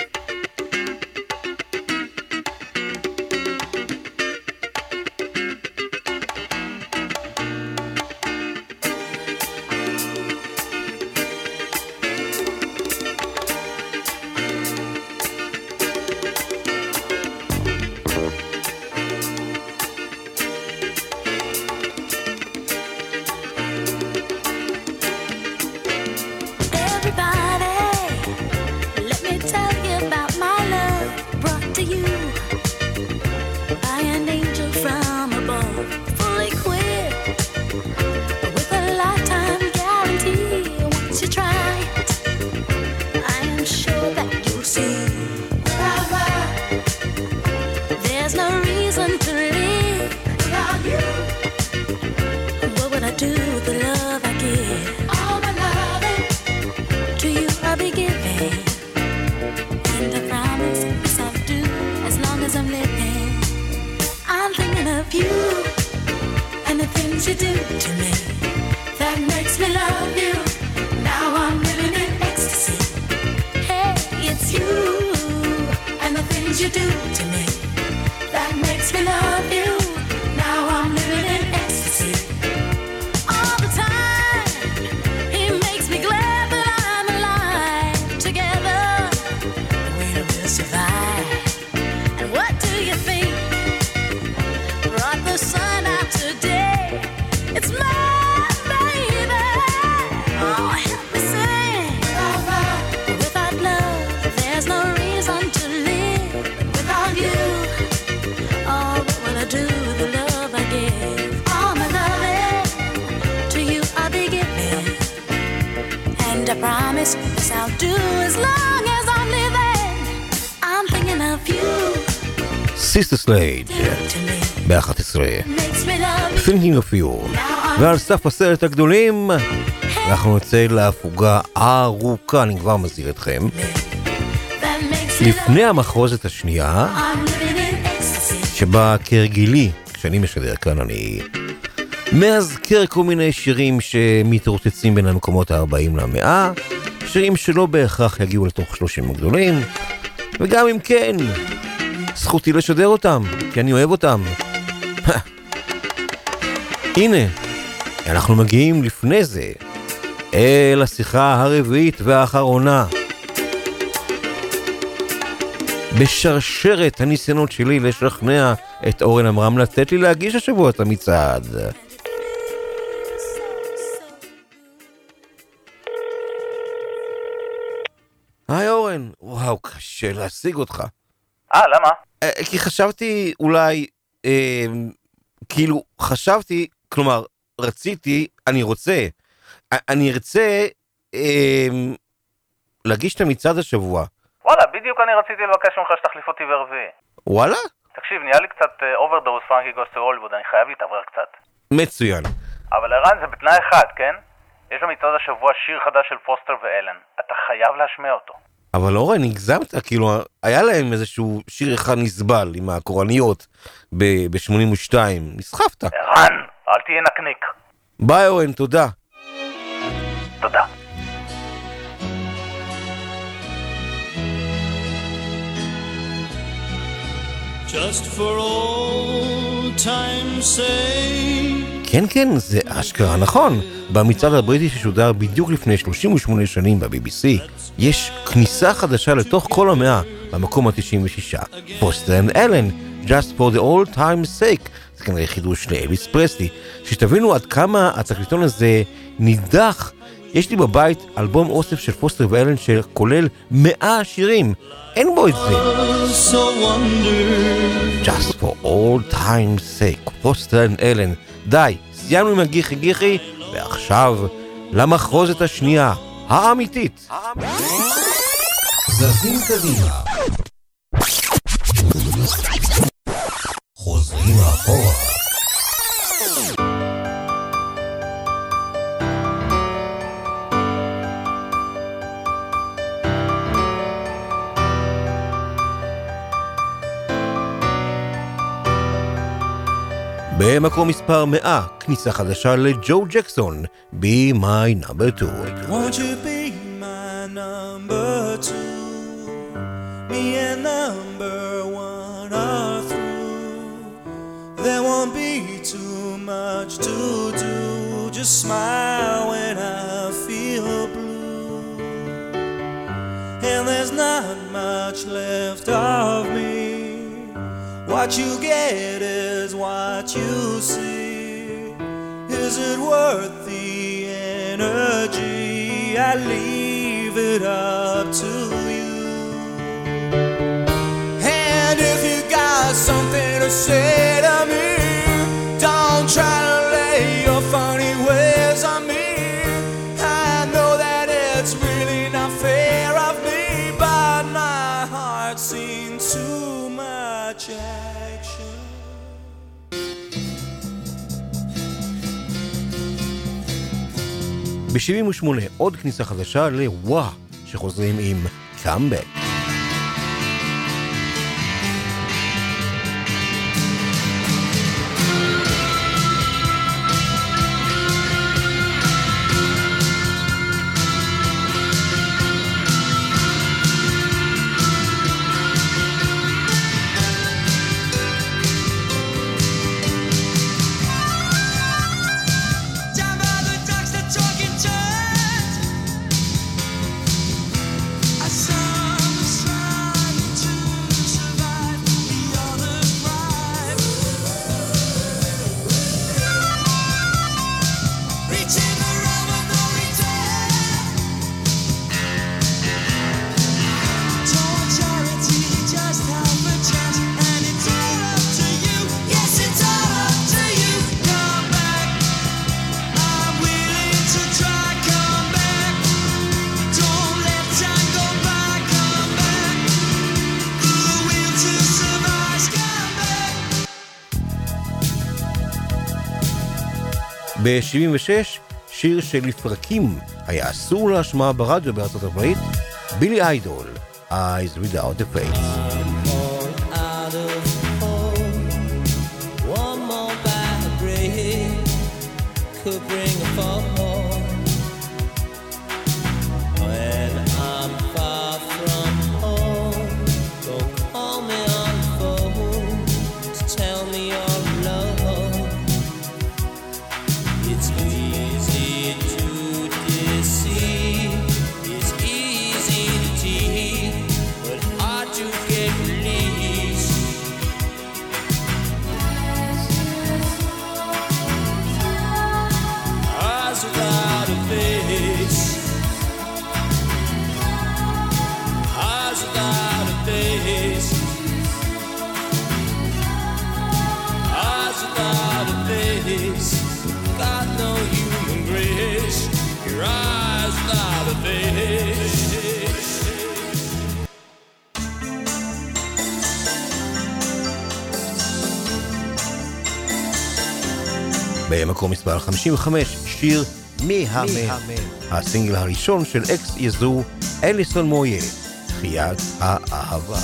Sister Sledge ב-אחת עשרה Thinking of you. ועל סף הסרט הגדולים אנחנו נצא להפוגה ארוכה, אני כבר מזהיר אתכם. לפני המחרוזת השנייה שבה כרגילי כשאני משדר כאן אני מאזכר כל מיני שירים שמתרוצצים בין המקומות ה-ארבעים למאה, שירים שלא בהכרח יגיעו לתוך שלושים הגדולים, וגם אם כן זכותי לשדר אותם, כי אני אוהב אותם. הנה, אנחנו מגיעים לפני זה אל השיחה הרביעית והאחרונה בשרשרת הניסיונות שלי לשכנע את אורן אמרם לתת לי להגיש השבוע את המצעד. היי אורן, וואו, קשה להשיג אותך. אה, למה? כי חשבתי אולי, אה, כאילו, חשבתי, כלומר, רציתי, אני רוצה, אני ארצה אה, להגיש את המצעד השבוע. וואלה, בדיוק אני רציתי לבקש ממך שתחליף אותי ברביעי. וואלה? תקשיב, נהיה לי קצת אוברדוז פרנקי גוס טו הוליווד, אני חייב להתעבר קצת. מצוין. אבל ערן, זה בתנאי אחד, כן? יש במצעד השבוע שיר חדש של פוסטר ואלן. אתה חייב להשמיע אותו. אבל אורן, נגזמת, כאילו, היה להם איזשהו שיר אחד נסבל עם הקורניות ב-שמונים ושתיים. נסחפת. ערן, אל תהיה נקניק. ביי אורן, תודה. תודה. Just for old time's sake. כן, כן, זה אשכרה נכון. במצעד הבריטי ששודר בדיוק לפני שלושים ושמונה שנים ב-בי בי סי, יש כניסה חדשה לתוך כל המאה, במקום ה-תשעים ושש. פוסטר אנד אלן, Just for the old time's sake, זה כנראה חידוש לאלוויס פרסלי. שתבינו עד כמה התקליטון הזה נידח, יש לי בבית אלבום אוסף של פוסטר ואלן שכולל מאה שירים, אין בו את זה. Just for old time's sake, פוסטר אנד אלן. די, סיימנו עם הגיחי גיחי, ועכשיו למחרוזת השנייה, האמיתית. זזים קדימה, חוזרים אחורה. במקום מספר מאה, כניסה חדשה לג'ו ג'קסון, Be My Number Two. Won't you be my number two? Me and number one are through. There won't be too much to do. Just smile when I feel blue. And there's not much left of me. What you get is what you see. Is it worth the energy? I leave it up to you. And if you got something to say to me, don't try to lay your funny ways on me. I know that it's really not fair of me, but my heart's seen too much action. ב-שבעים ושמונה עוד כניסה חדשה לוואה, שחוזרים עם קאמבק. ב-שבעים ושש, שיר שלפרקים היה אסור להשמעה ברדיו בארצות הברית, בילי איידול, Eyes Without a Face. Got no human grace. Your eyes without a face. במקום מספר חמישים וחמש, שיר מהמם, הסינגל הראשון של אקס יזו, אליסון מויה, חיית האהבה.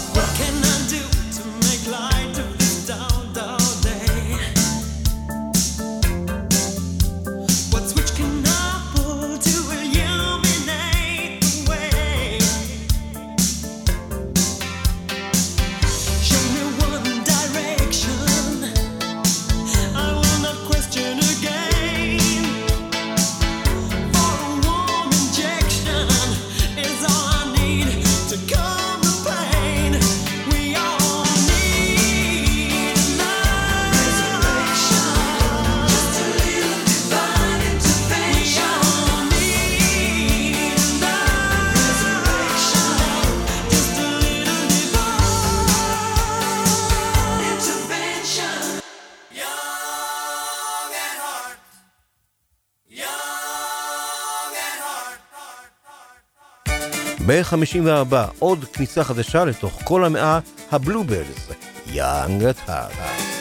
Is all I need to calm the pain. ב-חמישים וארבע עוד כניסה חדשה לתוך כל המאה, הבלובלס, Young at Heart.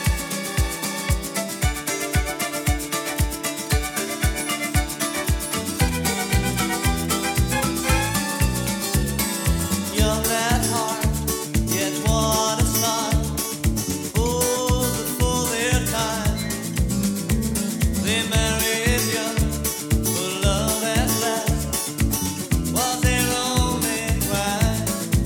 Young at heart, yet what a smile. Fools before their time. They married young for love at last. Was their only crime.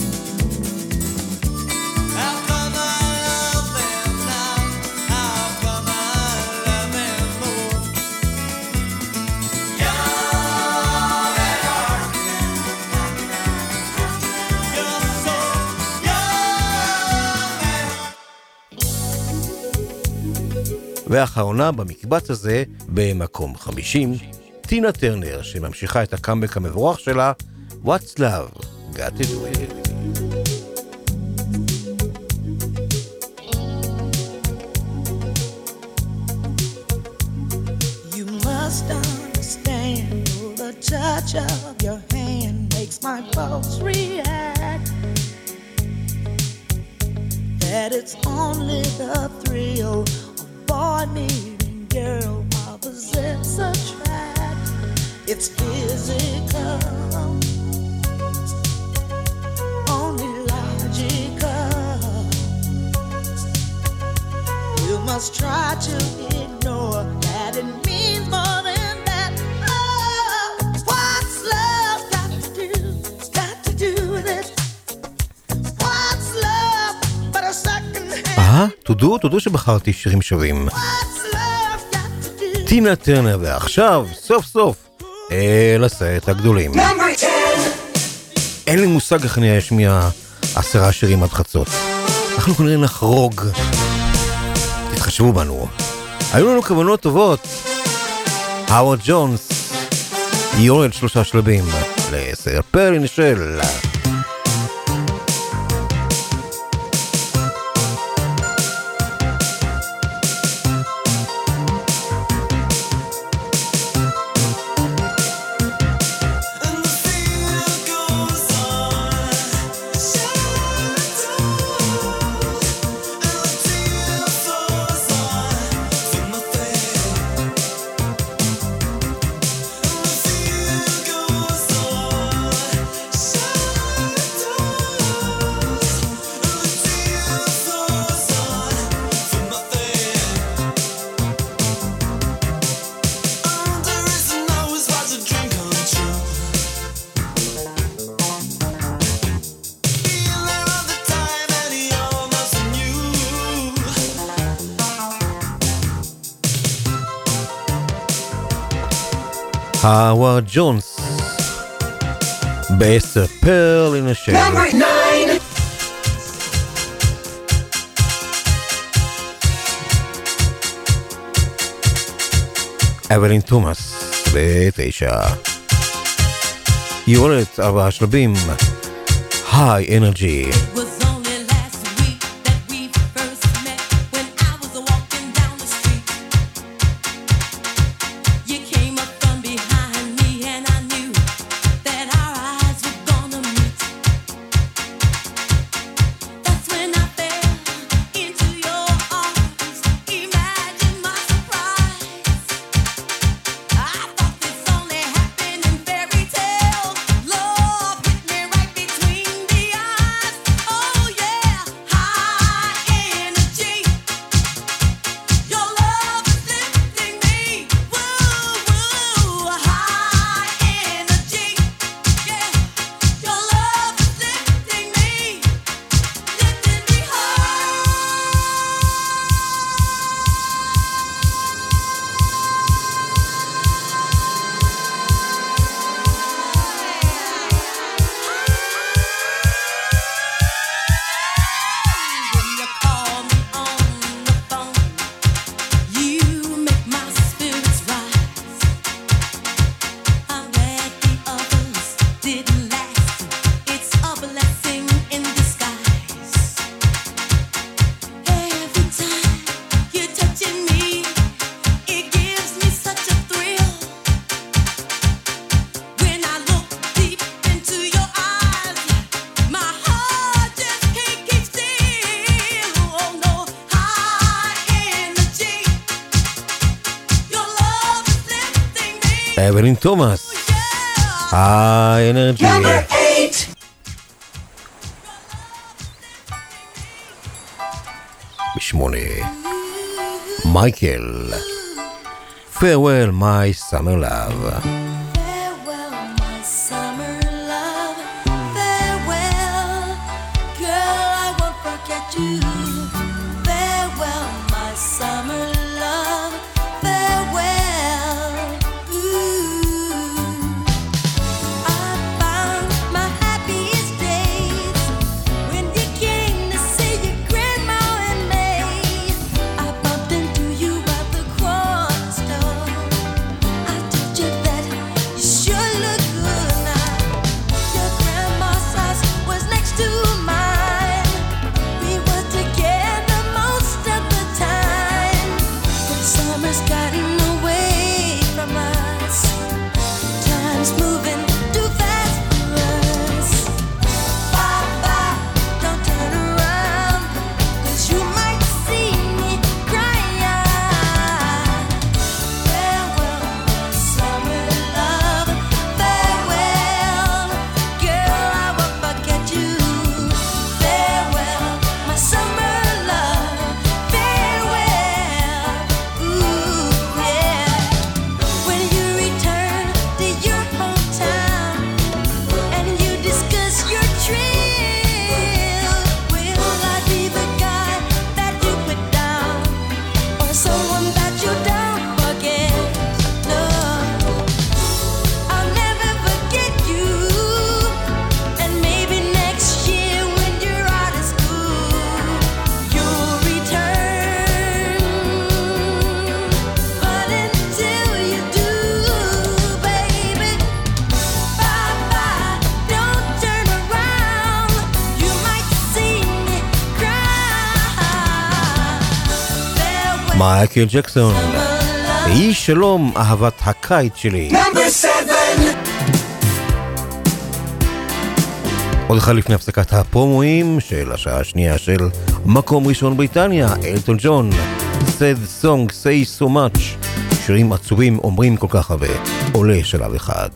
How come I love them now? How come I love them more? Young at heart. You're so young at heart. ואחרונה במקבץ הזה, במקום חמישים, טינה טרנר, שממשיכה את הקאמבק המבורך שלה, What's Love, Got to Do It. You must understand, the touch of your hand makes my pulse react. That it's only the thrill of boy meeting girl opposites attract. It's physical, only logical. You must try to ignore that it means more than that. Oh, what's love got to do? Got to do with it. What's love but a second hand? אה, תודו, תודו שבחרתי שירים שווים. טינה טרנר, ועכשיו, סוף סוף, אל הסרט הגדולים. אין לי מושג איך אני אשמיע עשרה שירים עד חצות. אנחנו כנראה נחרוג. תתחשבו בנו. היו לנו כוונות טובות. האוורד ג'ונס יורד שלושה שלבים לסרט פרלין של... האוורד ג'ונס בעשר פרל אין השל. אבלין תומאס בתשע. יורדת ארבעה שלבים. היי אנרג'י. Love hit me right between the eyes. אבלין תומאס, האנרגי. בשמונה, מייקל, Farewell My Summer Love. Farewell, my summer love. Farewell, girl, I won't forget you. Farewell, my summer love. Farewell. Ooh. I found my happiest days when you came to see your grandma and me. I bumped into you at the corner store. I told you that you sure look good now. Your grandma's house was next to mine. We were together most of the time. But summer's gotten away from us. Time's moving too fast for us. Bye bye, don't turn around, 'cause you might see me crying. Farewell, my summer love. Farewell, girl, I won't forget you. Farewell, my summer love. Farewell, ooh yeah. When you return to your hometown and you discuss your trail, will I be the guy that you put down, or someone that you don't forget? No, I'll never forget you. And maybe next year when you're out of school, you'll return. But until you do, baby, bye bye, don't turn around. You might see me cry. Farewell, מייקל ג'קסון, היא שלום אהבת הקיץ שלי. Number seven. עוד אחד לפני הפסקת הפרומואים של השעה השנייה של מקום ראשון בריטניה, אלטון ג'ון, Sad Song Say So Much, שירים עצובים אומרים כל כך הרבה, עולה שלב אחד.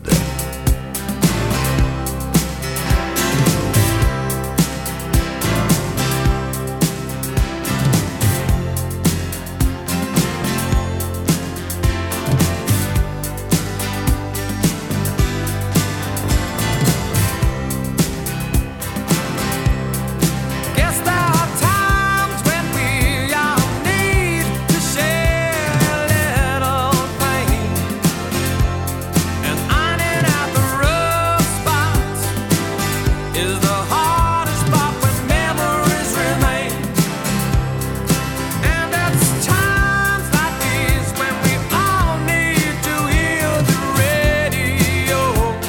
Guess there are times when we all need to share a little pain, and ironing out the rough spots is the hardest part when memories remain. And it's times like these when we all need to hear the radio,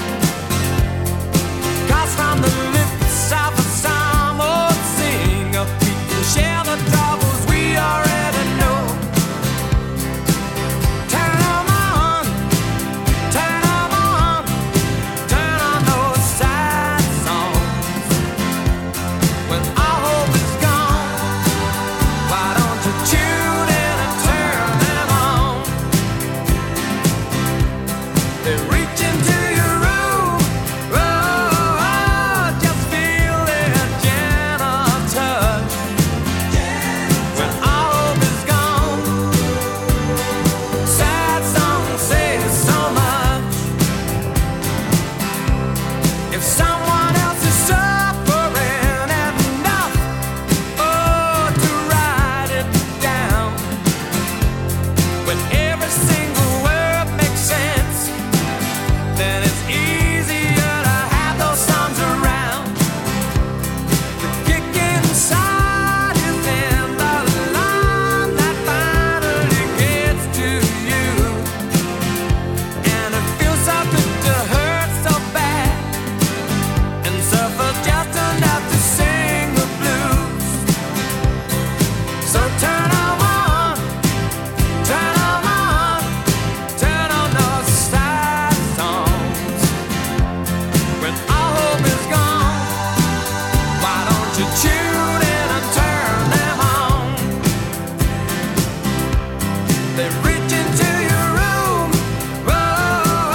'cause from the lips of a psalm old singer, we can share the troubles we already know. Turn 'em on, turn 'em on, turn on those sad songs. When all hope is gone, why don't you tune in and turn them on? They reach into your room, oh, oh, just feel their gentle touch. When all hope is gone, sad songs say so much. If someone else is suffering enough, oh, to write it down, when every single word makes sense, then it's easier to have those songs around. The kick inside is in the line that finally gets to you, and it feels so good to hurt so bad and suffer just enough to sing the blues. So turn 'em on, turn 'em on, turn on those sad songs. When all hope is gone, why don't you tune in and turn them on? They reach into your room, oh,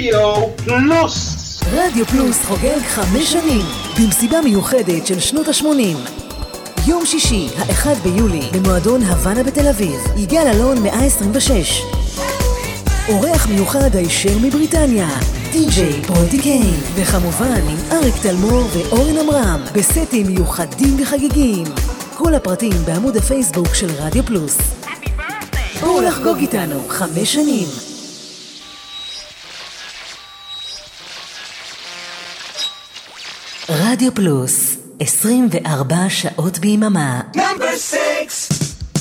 רדיו פלוס. רדיו פלוס חוגג חמש שנים במסיבה מיוחדת של שנות ה-שמונים. יום שישי, האחד ביולי, במועדון הוואנה בתל אביב. יגאל אלון מאה עשרים ושש. אורח מיוחד הישר מבריטניה, די-ג'יי פרוטי קיין, וכמובן עם אריק תלמור ואורן אמרם, בסטים מיוחדים וחגיגיים. כל הפרטים בעמוד הפייסבוק של רדיו פלוס. בואו לחגוג איתנו חמש שנים. רדיו פלוס, עשרים וארבע שעות ביממה. Number six.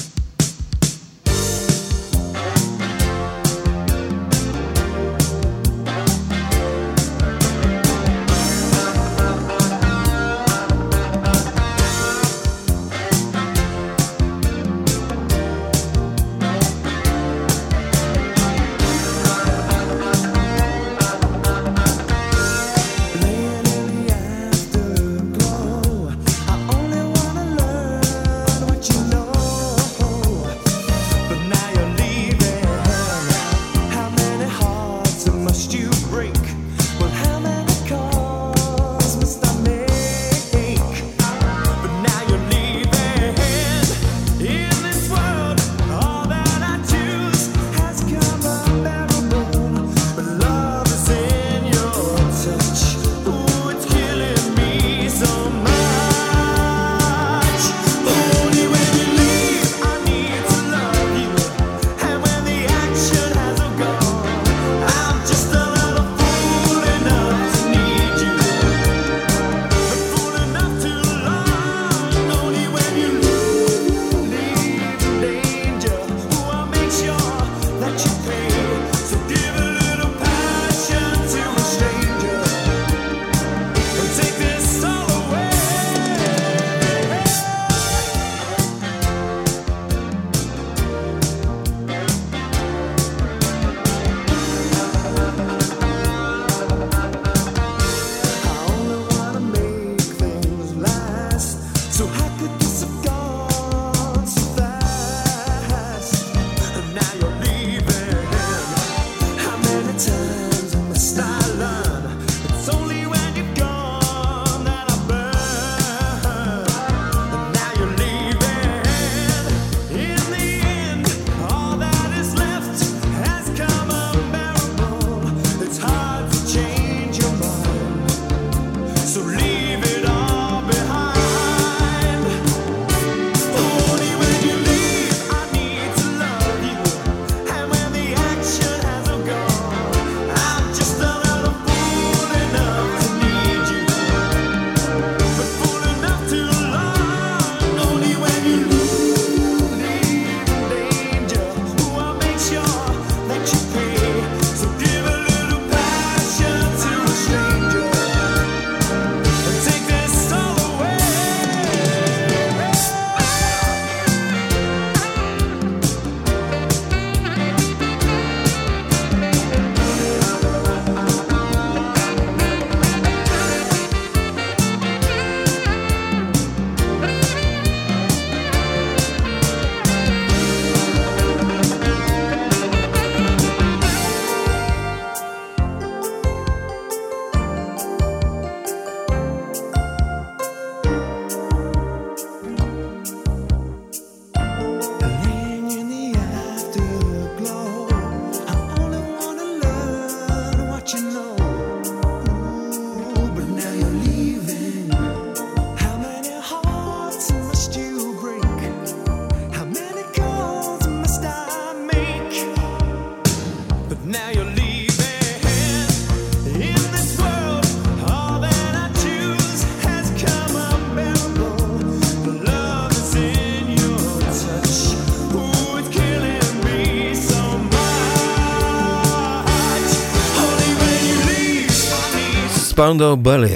ספנדר בלה,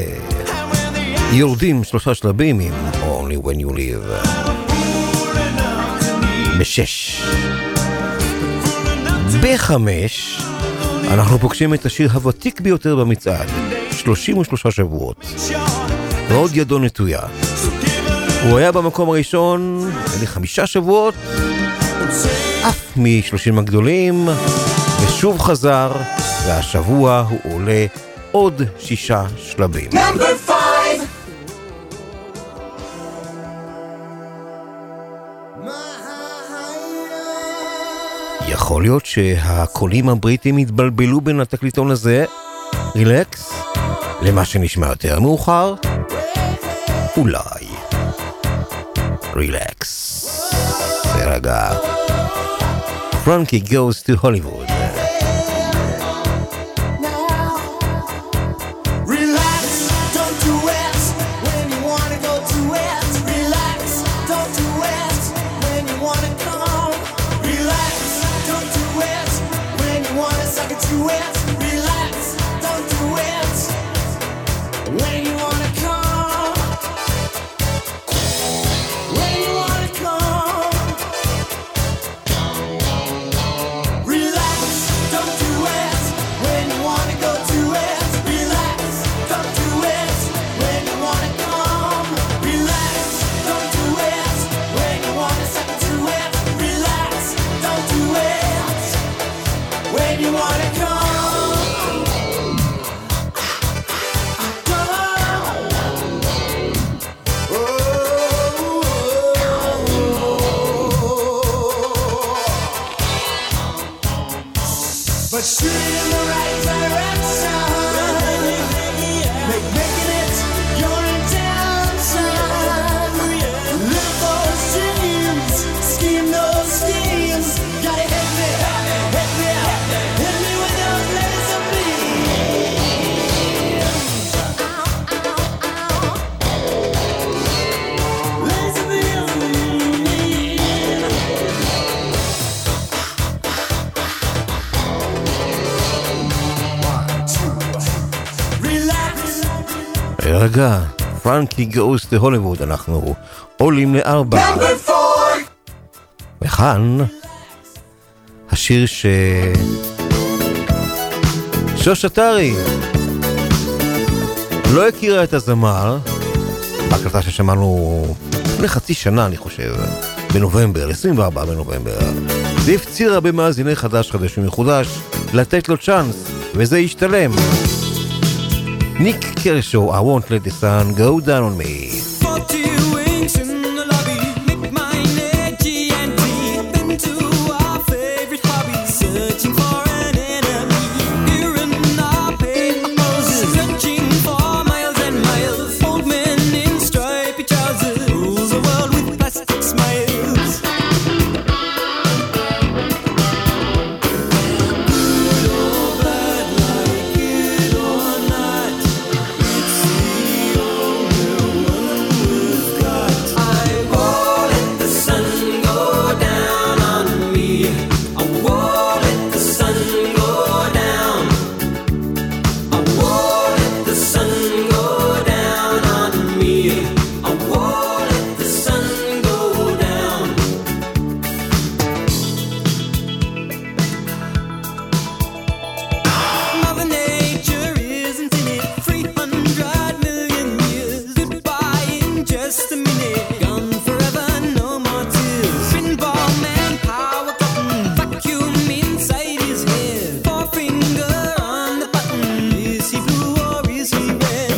יורדים שלושה שלבים עם Only When You Live. בשש. בחמש אנחנו פוגשים את השיר הוותיק ביותר במצעד, שלושים ושלושה שבועות. ועוד ידו נטויה. הוא היה במקום הראשון לחמישה שבועות, אף משלושים הגדולים. ושוב חזר, והשבוע הוא עולה עוד שישה שלבים. Number five. יכול להיות שהקולים הבריטים התבלבלו בין התקליטון הזה, רילקס, למה שנשמע יותר מאוחר? אולי. רילקס. רגע. Frankie goes to Hollywood. רגע, פרנקי גאוס להוליווד, אנחנו עולים לארבע. וכאן השיר ש... שוש אתרי לא הכירה את הזמר בהקלטה ששמענו לפני חצי שנה, אני חושב, בנובמבר, עשרים וארבעה בנובמבר, והפצירה במאזיני חדש חדש ומחודש לתת לו צ'אנס, וזה ישתלם. Nick Kershaw, I won't let the sun go down on me. forty wings in the lobby, make my neck G and T. Been to our favorite hobby, searching for an enemy. Here in our paper houses, searching for miles and miles. Old men in stripy trousers, rules the world with plastic smiles. Good or bad, like it or not, it's the only one we've got. I won't let the sun go down on me. I won't let the sun go down. I won't let the sun go down on me. I won't let the sun go down. Mother Nature isn't in it. Three hundred million years. Goodbye in just a minute. Gone forever, no more tears. Pinball man, power button. Vacuum inside his head. Forefinger on the button. Is he blue or is he red?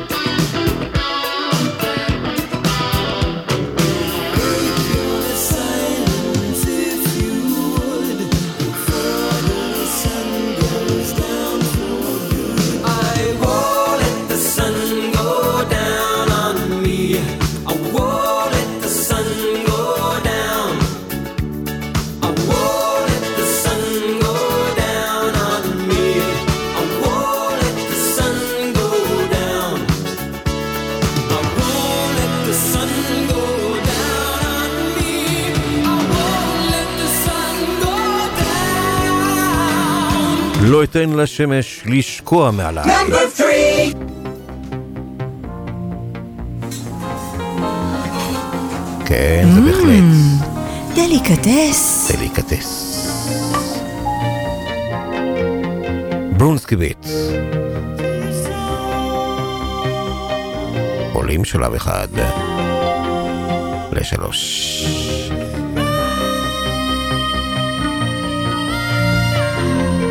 Break your silence if you would. Before the sun goes down for good. I won't let the sun go down on me. I won't let the sun go down. I won't let the sun go down on me. I won't let the sun go down. I won't let the sun go down on me. I won't let the sun go down. לא אתן לשמש לשקוע מעליי. Number three. כן, זה בהחלט דליקטס. דליקטס. ברונסקי ביט. עולים שלב אחד לשלוש.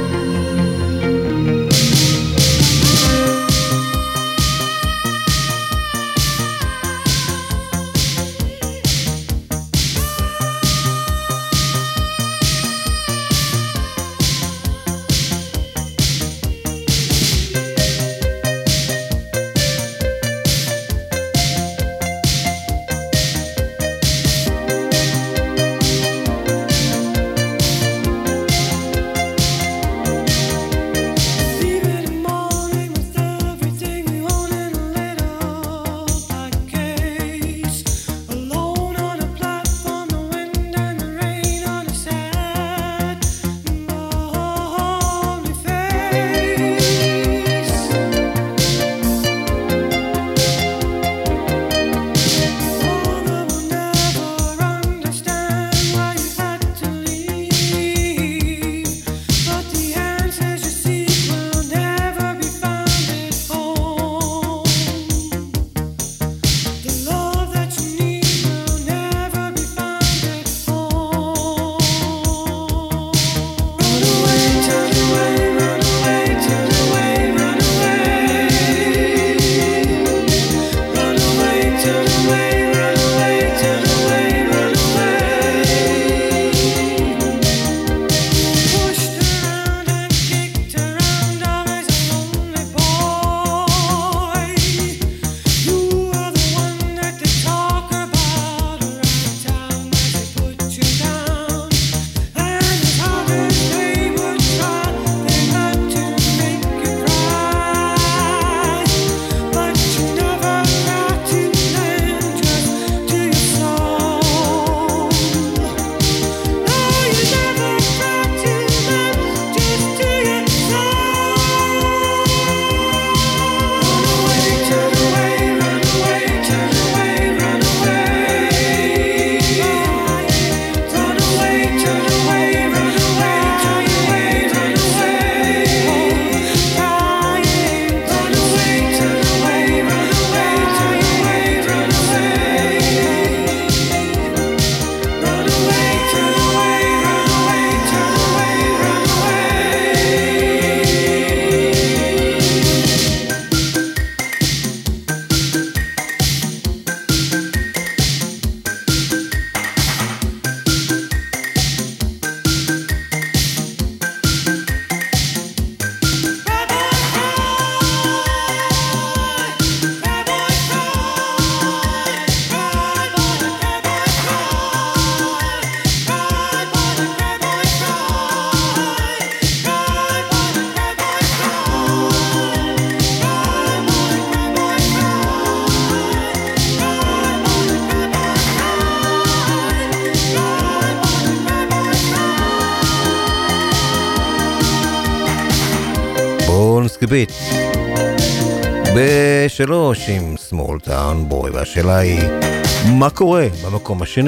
בשלוש עם Small Town Boy, והשאלה היא, מה קורה במקום השני?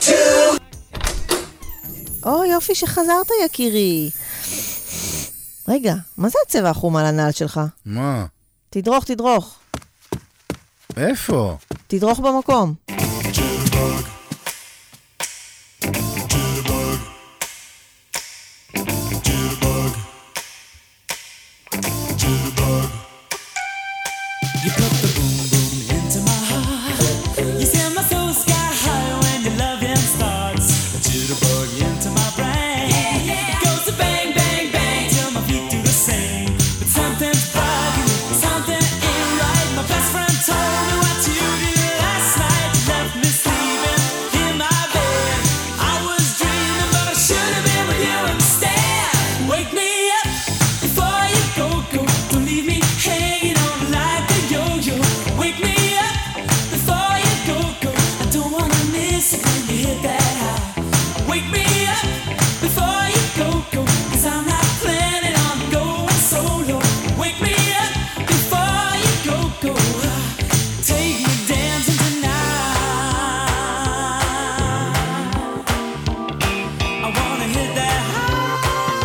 או יופי שחזרת יקירי. רגע, מה זה הצבע החום על הנעל שלך? מה? תדרוך, תדרוך. איפה? תדרוך במקום. You put the boom boom into my heart. You send my soul sky high when your loving starts. A jitterbug into my brain. Yeah, yeah. It goes to bang, bang, bang till my feet do the same. But something's bugging me, something ain't right. My best friend told me what you did last night. You left me sleeping in my bed. I was dreaming, but I should have been with you instead. Wake me up before you go, go. Don't leave me hanging on like a yo-yo. Wake me up before you go, go. I don't wanna miss it when you hit that high. Wake me up before you go, go. Cause I'm not planning on going solo. Wake me up before you go, go. Take me dancing tonight. I wanna hit that high.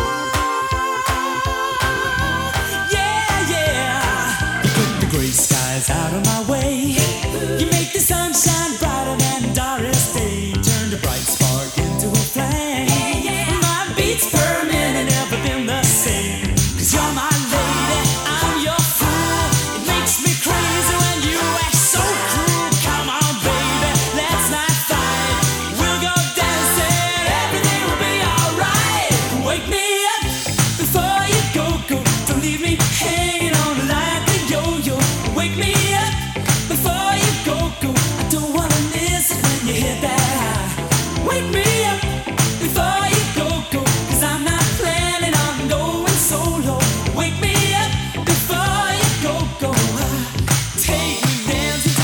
Yeah, yeah. You put the gray skies out of my way. You make the sunshine brighter than Doris Day. Turn the bright spark into a flame. My beats per minute never been the same. Cause you're my lady, I'm your fool. It makes me crazy when you act so cruel. Come on, baby, let's not fight. We'll go dancing, everything will be alright. Wake me up before you go, go. Don't leave me hanging on like a yo-yo. Wake me up before you go, go. I don't wanna miss it when you hit that high. Wake me up before you go, go. Cause I'm not planning on going solo. Wake me up before you go, go. Take me dancing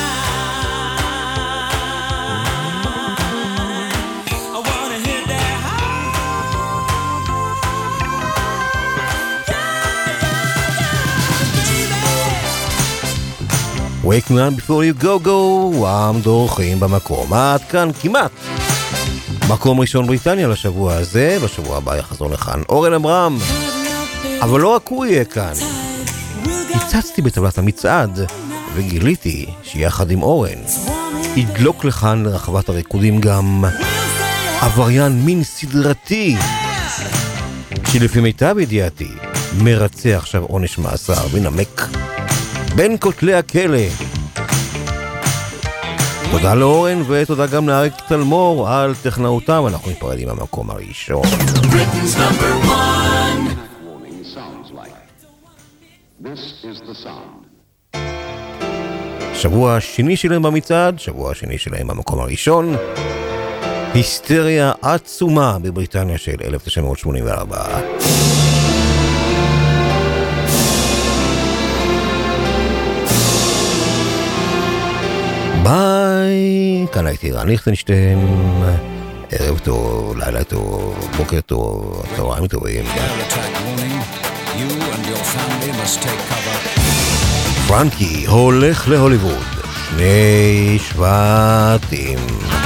tonight. I wanna hit that Wake me up before you go go, עם דורכים במקום. עד כאן כמעט מקום ראשון בריטניה לשבוע הזה. בשבוע הבא יחזור לכאן אורן אברהם, אבל לא רק הוא יהיה כאן. הצצתי בטבלת המצעד וגיליתי שיחד עם אורן ידלוק לכאן לרחבת הריקודים גם עבריין מין סדרתי שלפי מיטב ידיעתי מרצה עכשיו עונש מאסר ונמק בין כותלי הכלא. תודה לאורן ותודה גם לאריק תלמור על טכנאותם. אנחנו נפרדים במקום הראשון. Britain's number one. This is the sound. שבוע השני שלהם במצעד, שבוע השני שלהם במקום הראשון. היסטריה עצומה בבריטניה של אלף תשע מאות שמונים וארבע. ביי, כאן הייתי רן ליכטנשטיין. ערב טוב, לילה טוב, בוקר טוב, צהריים טובים. פרנקי הולך להוליווד, שני שבטים.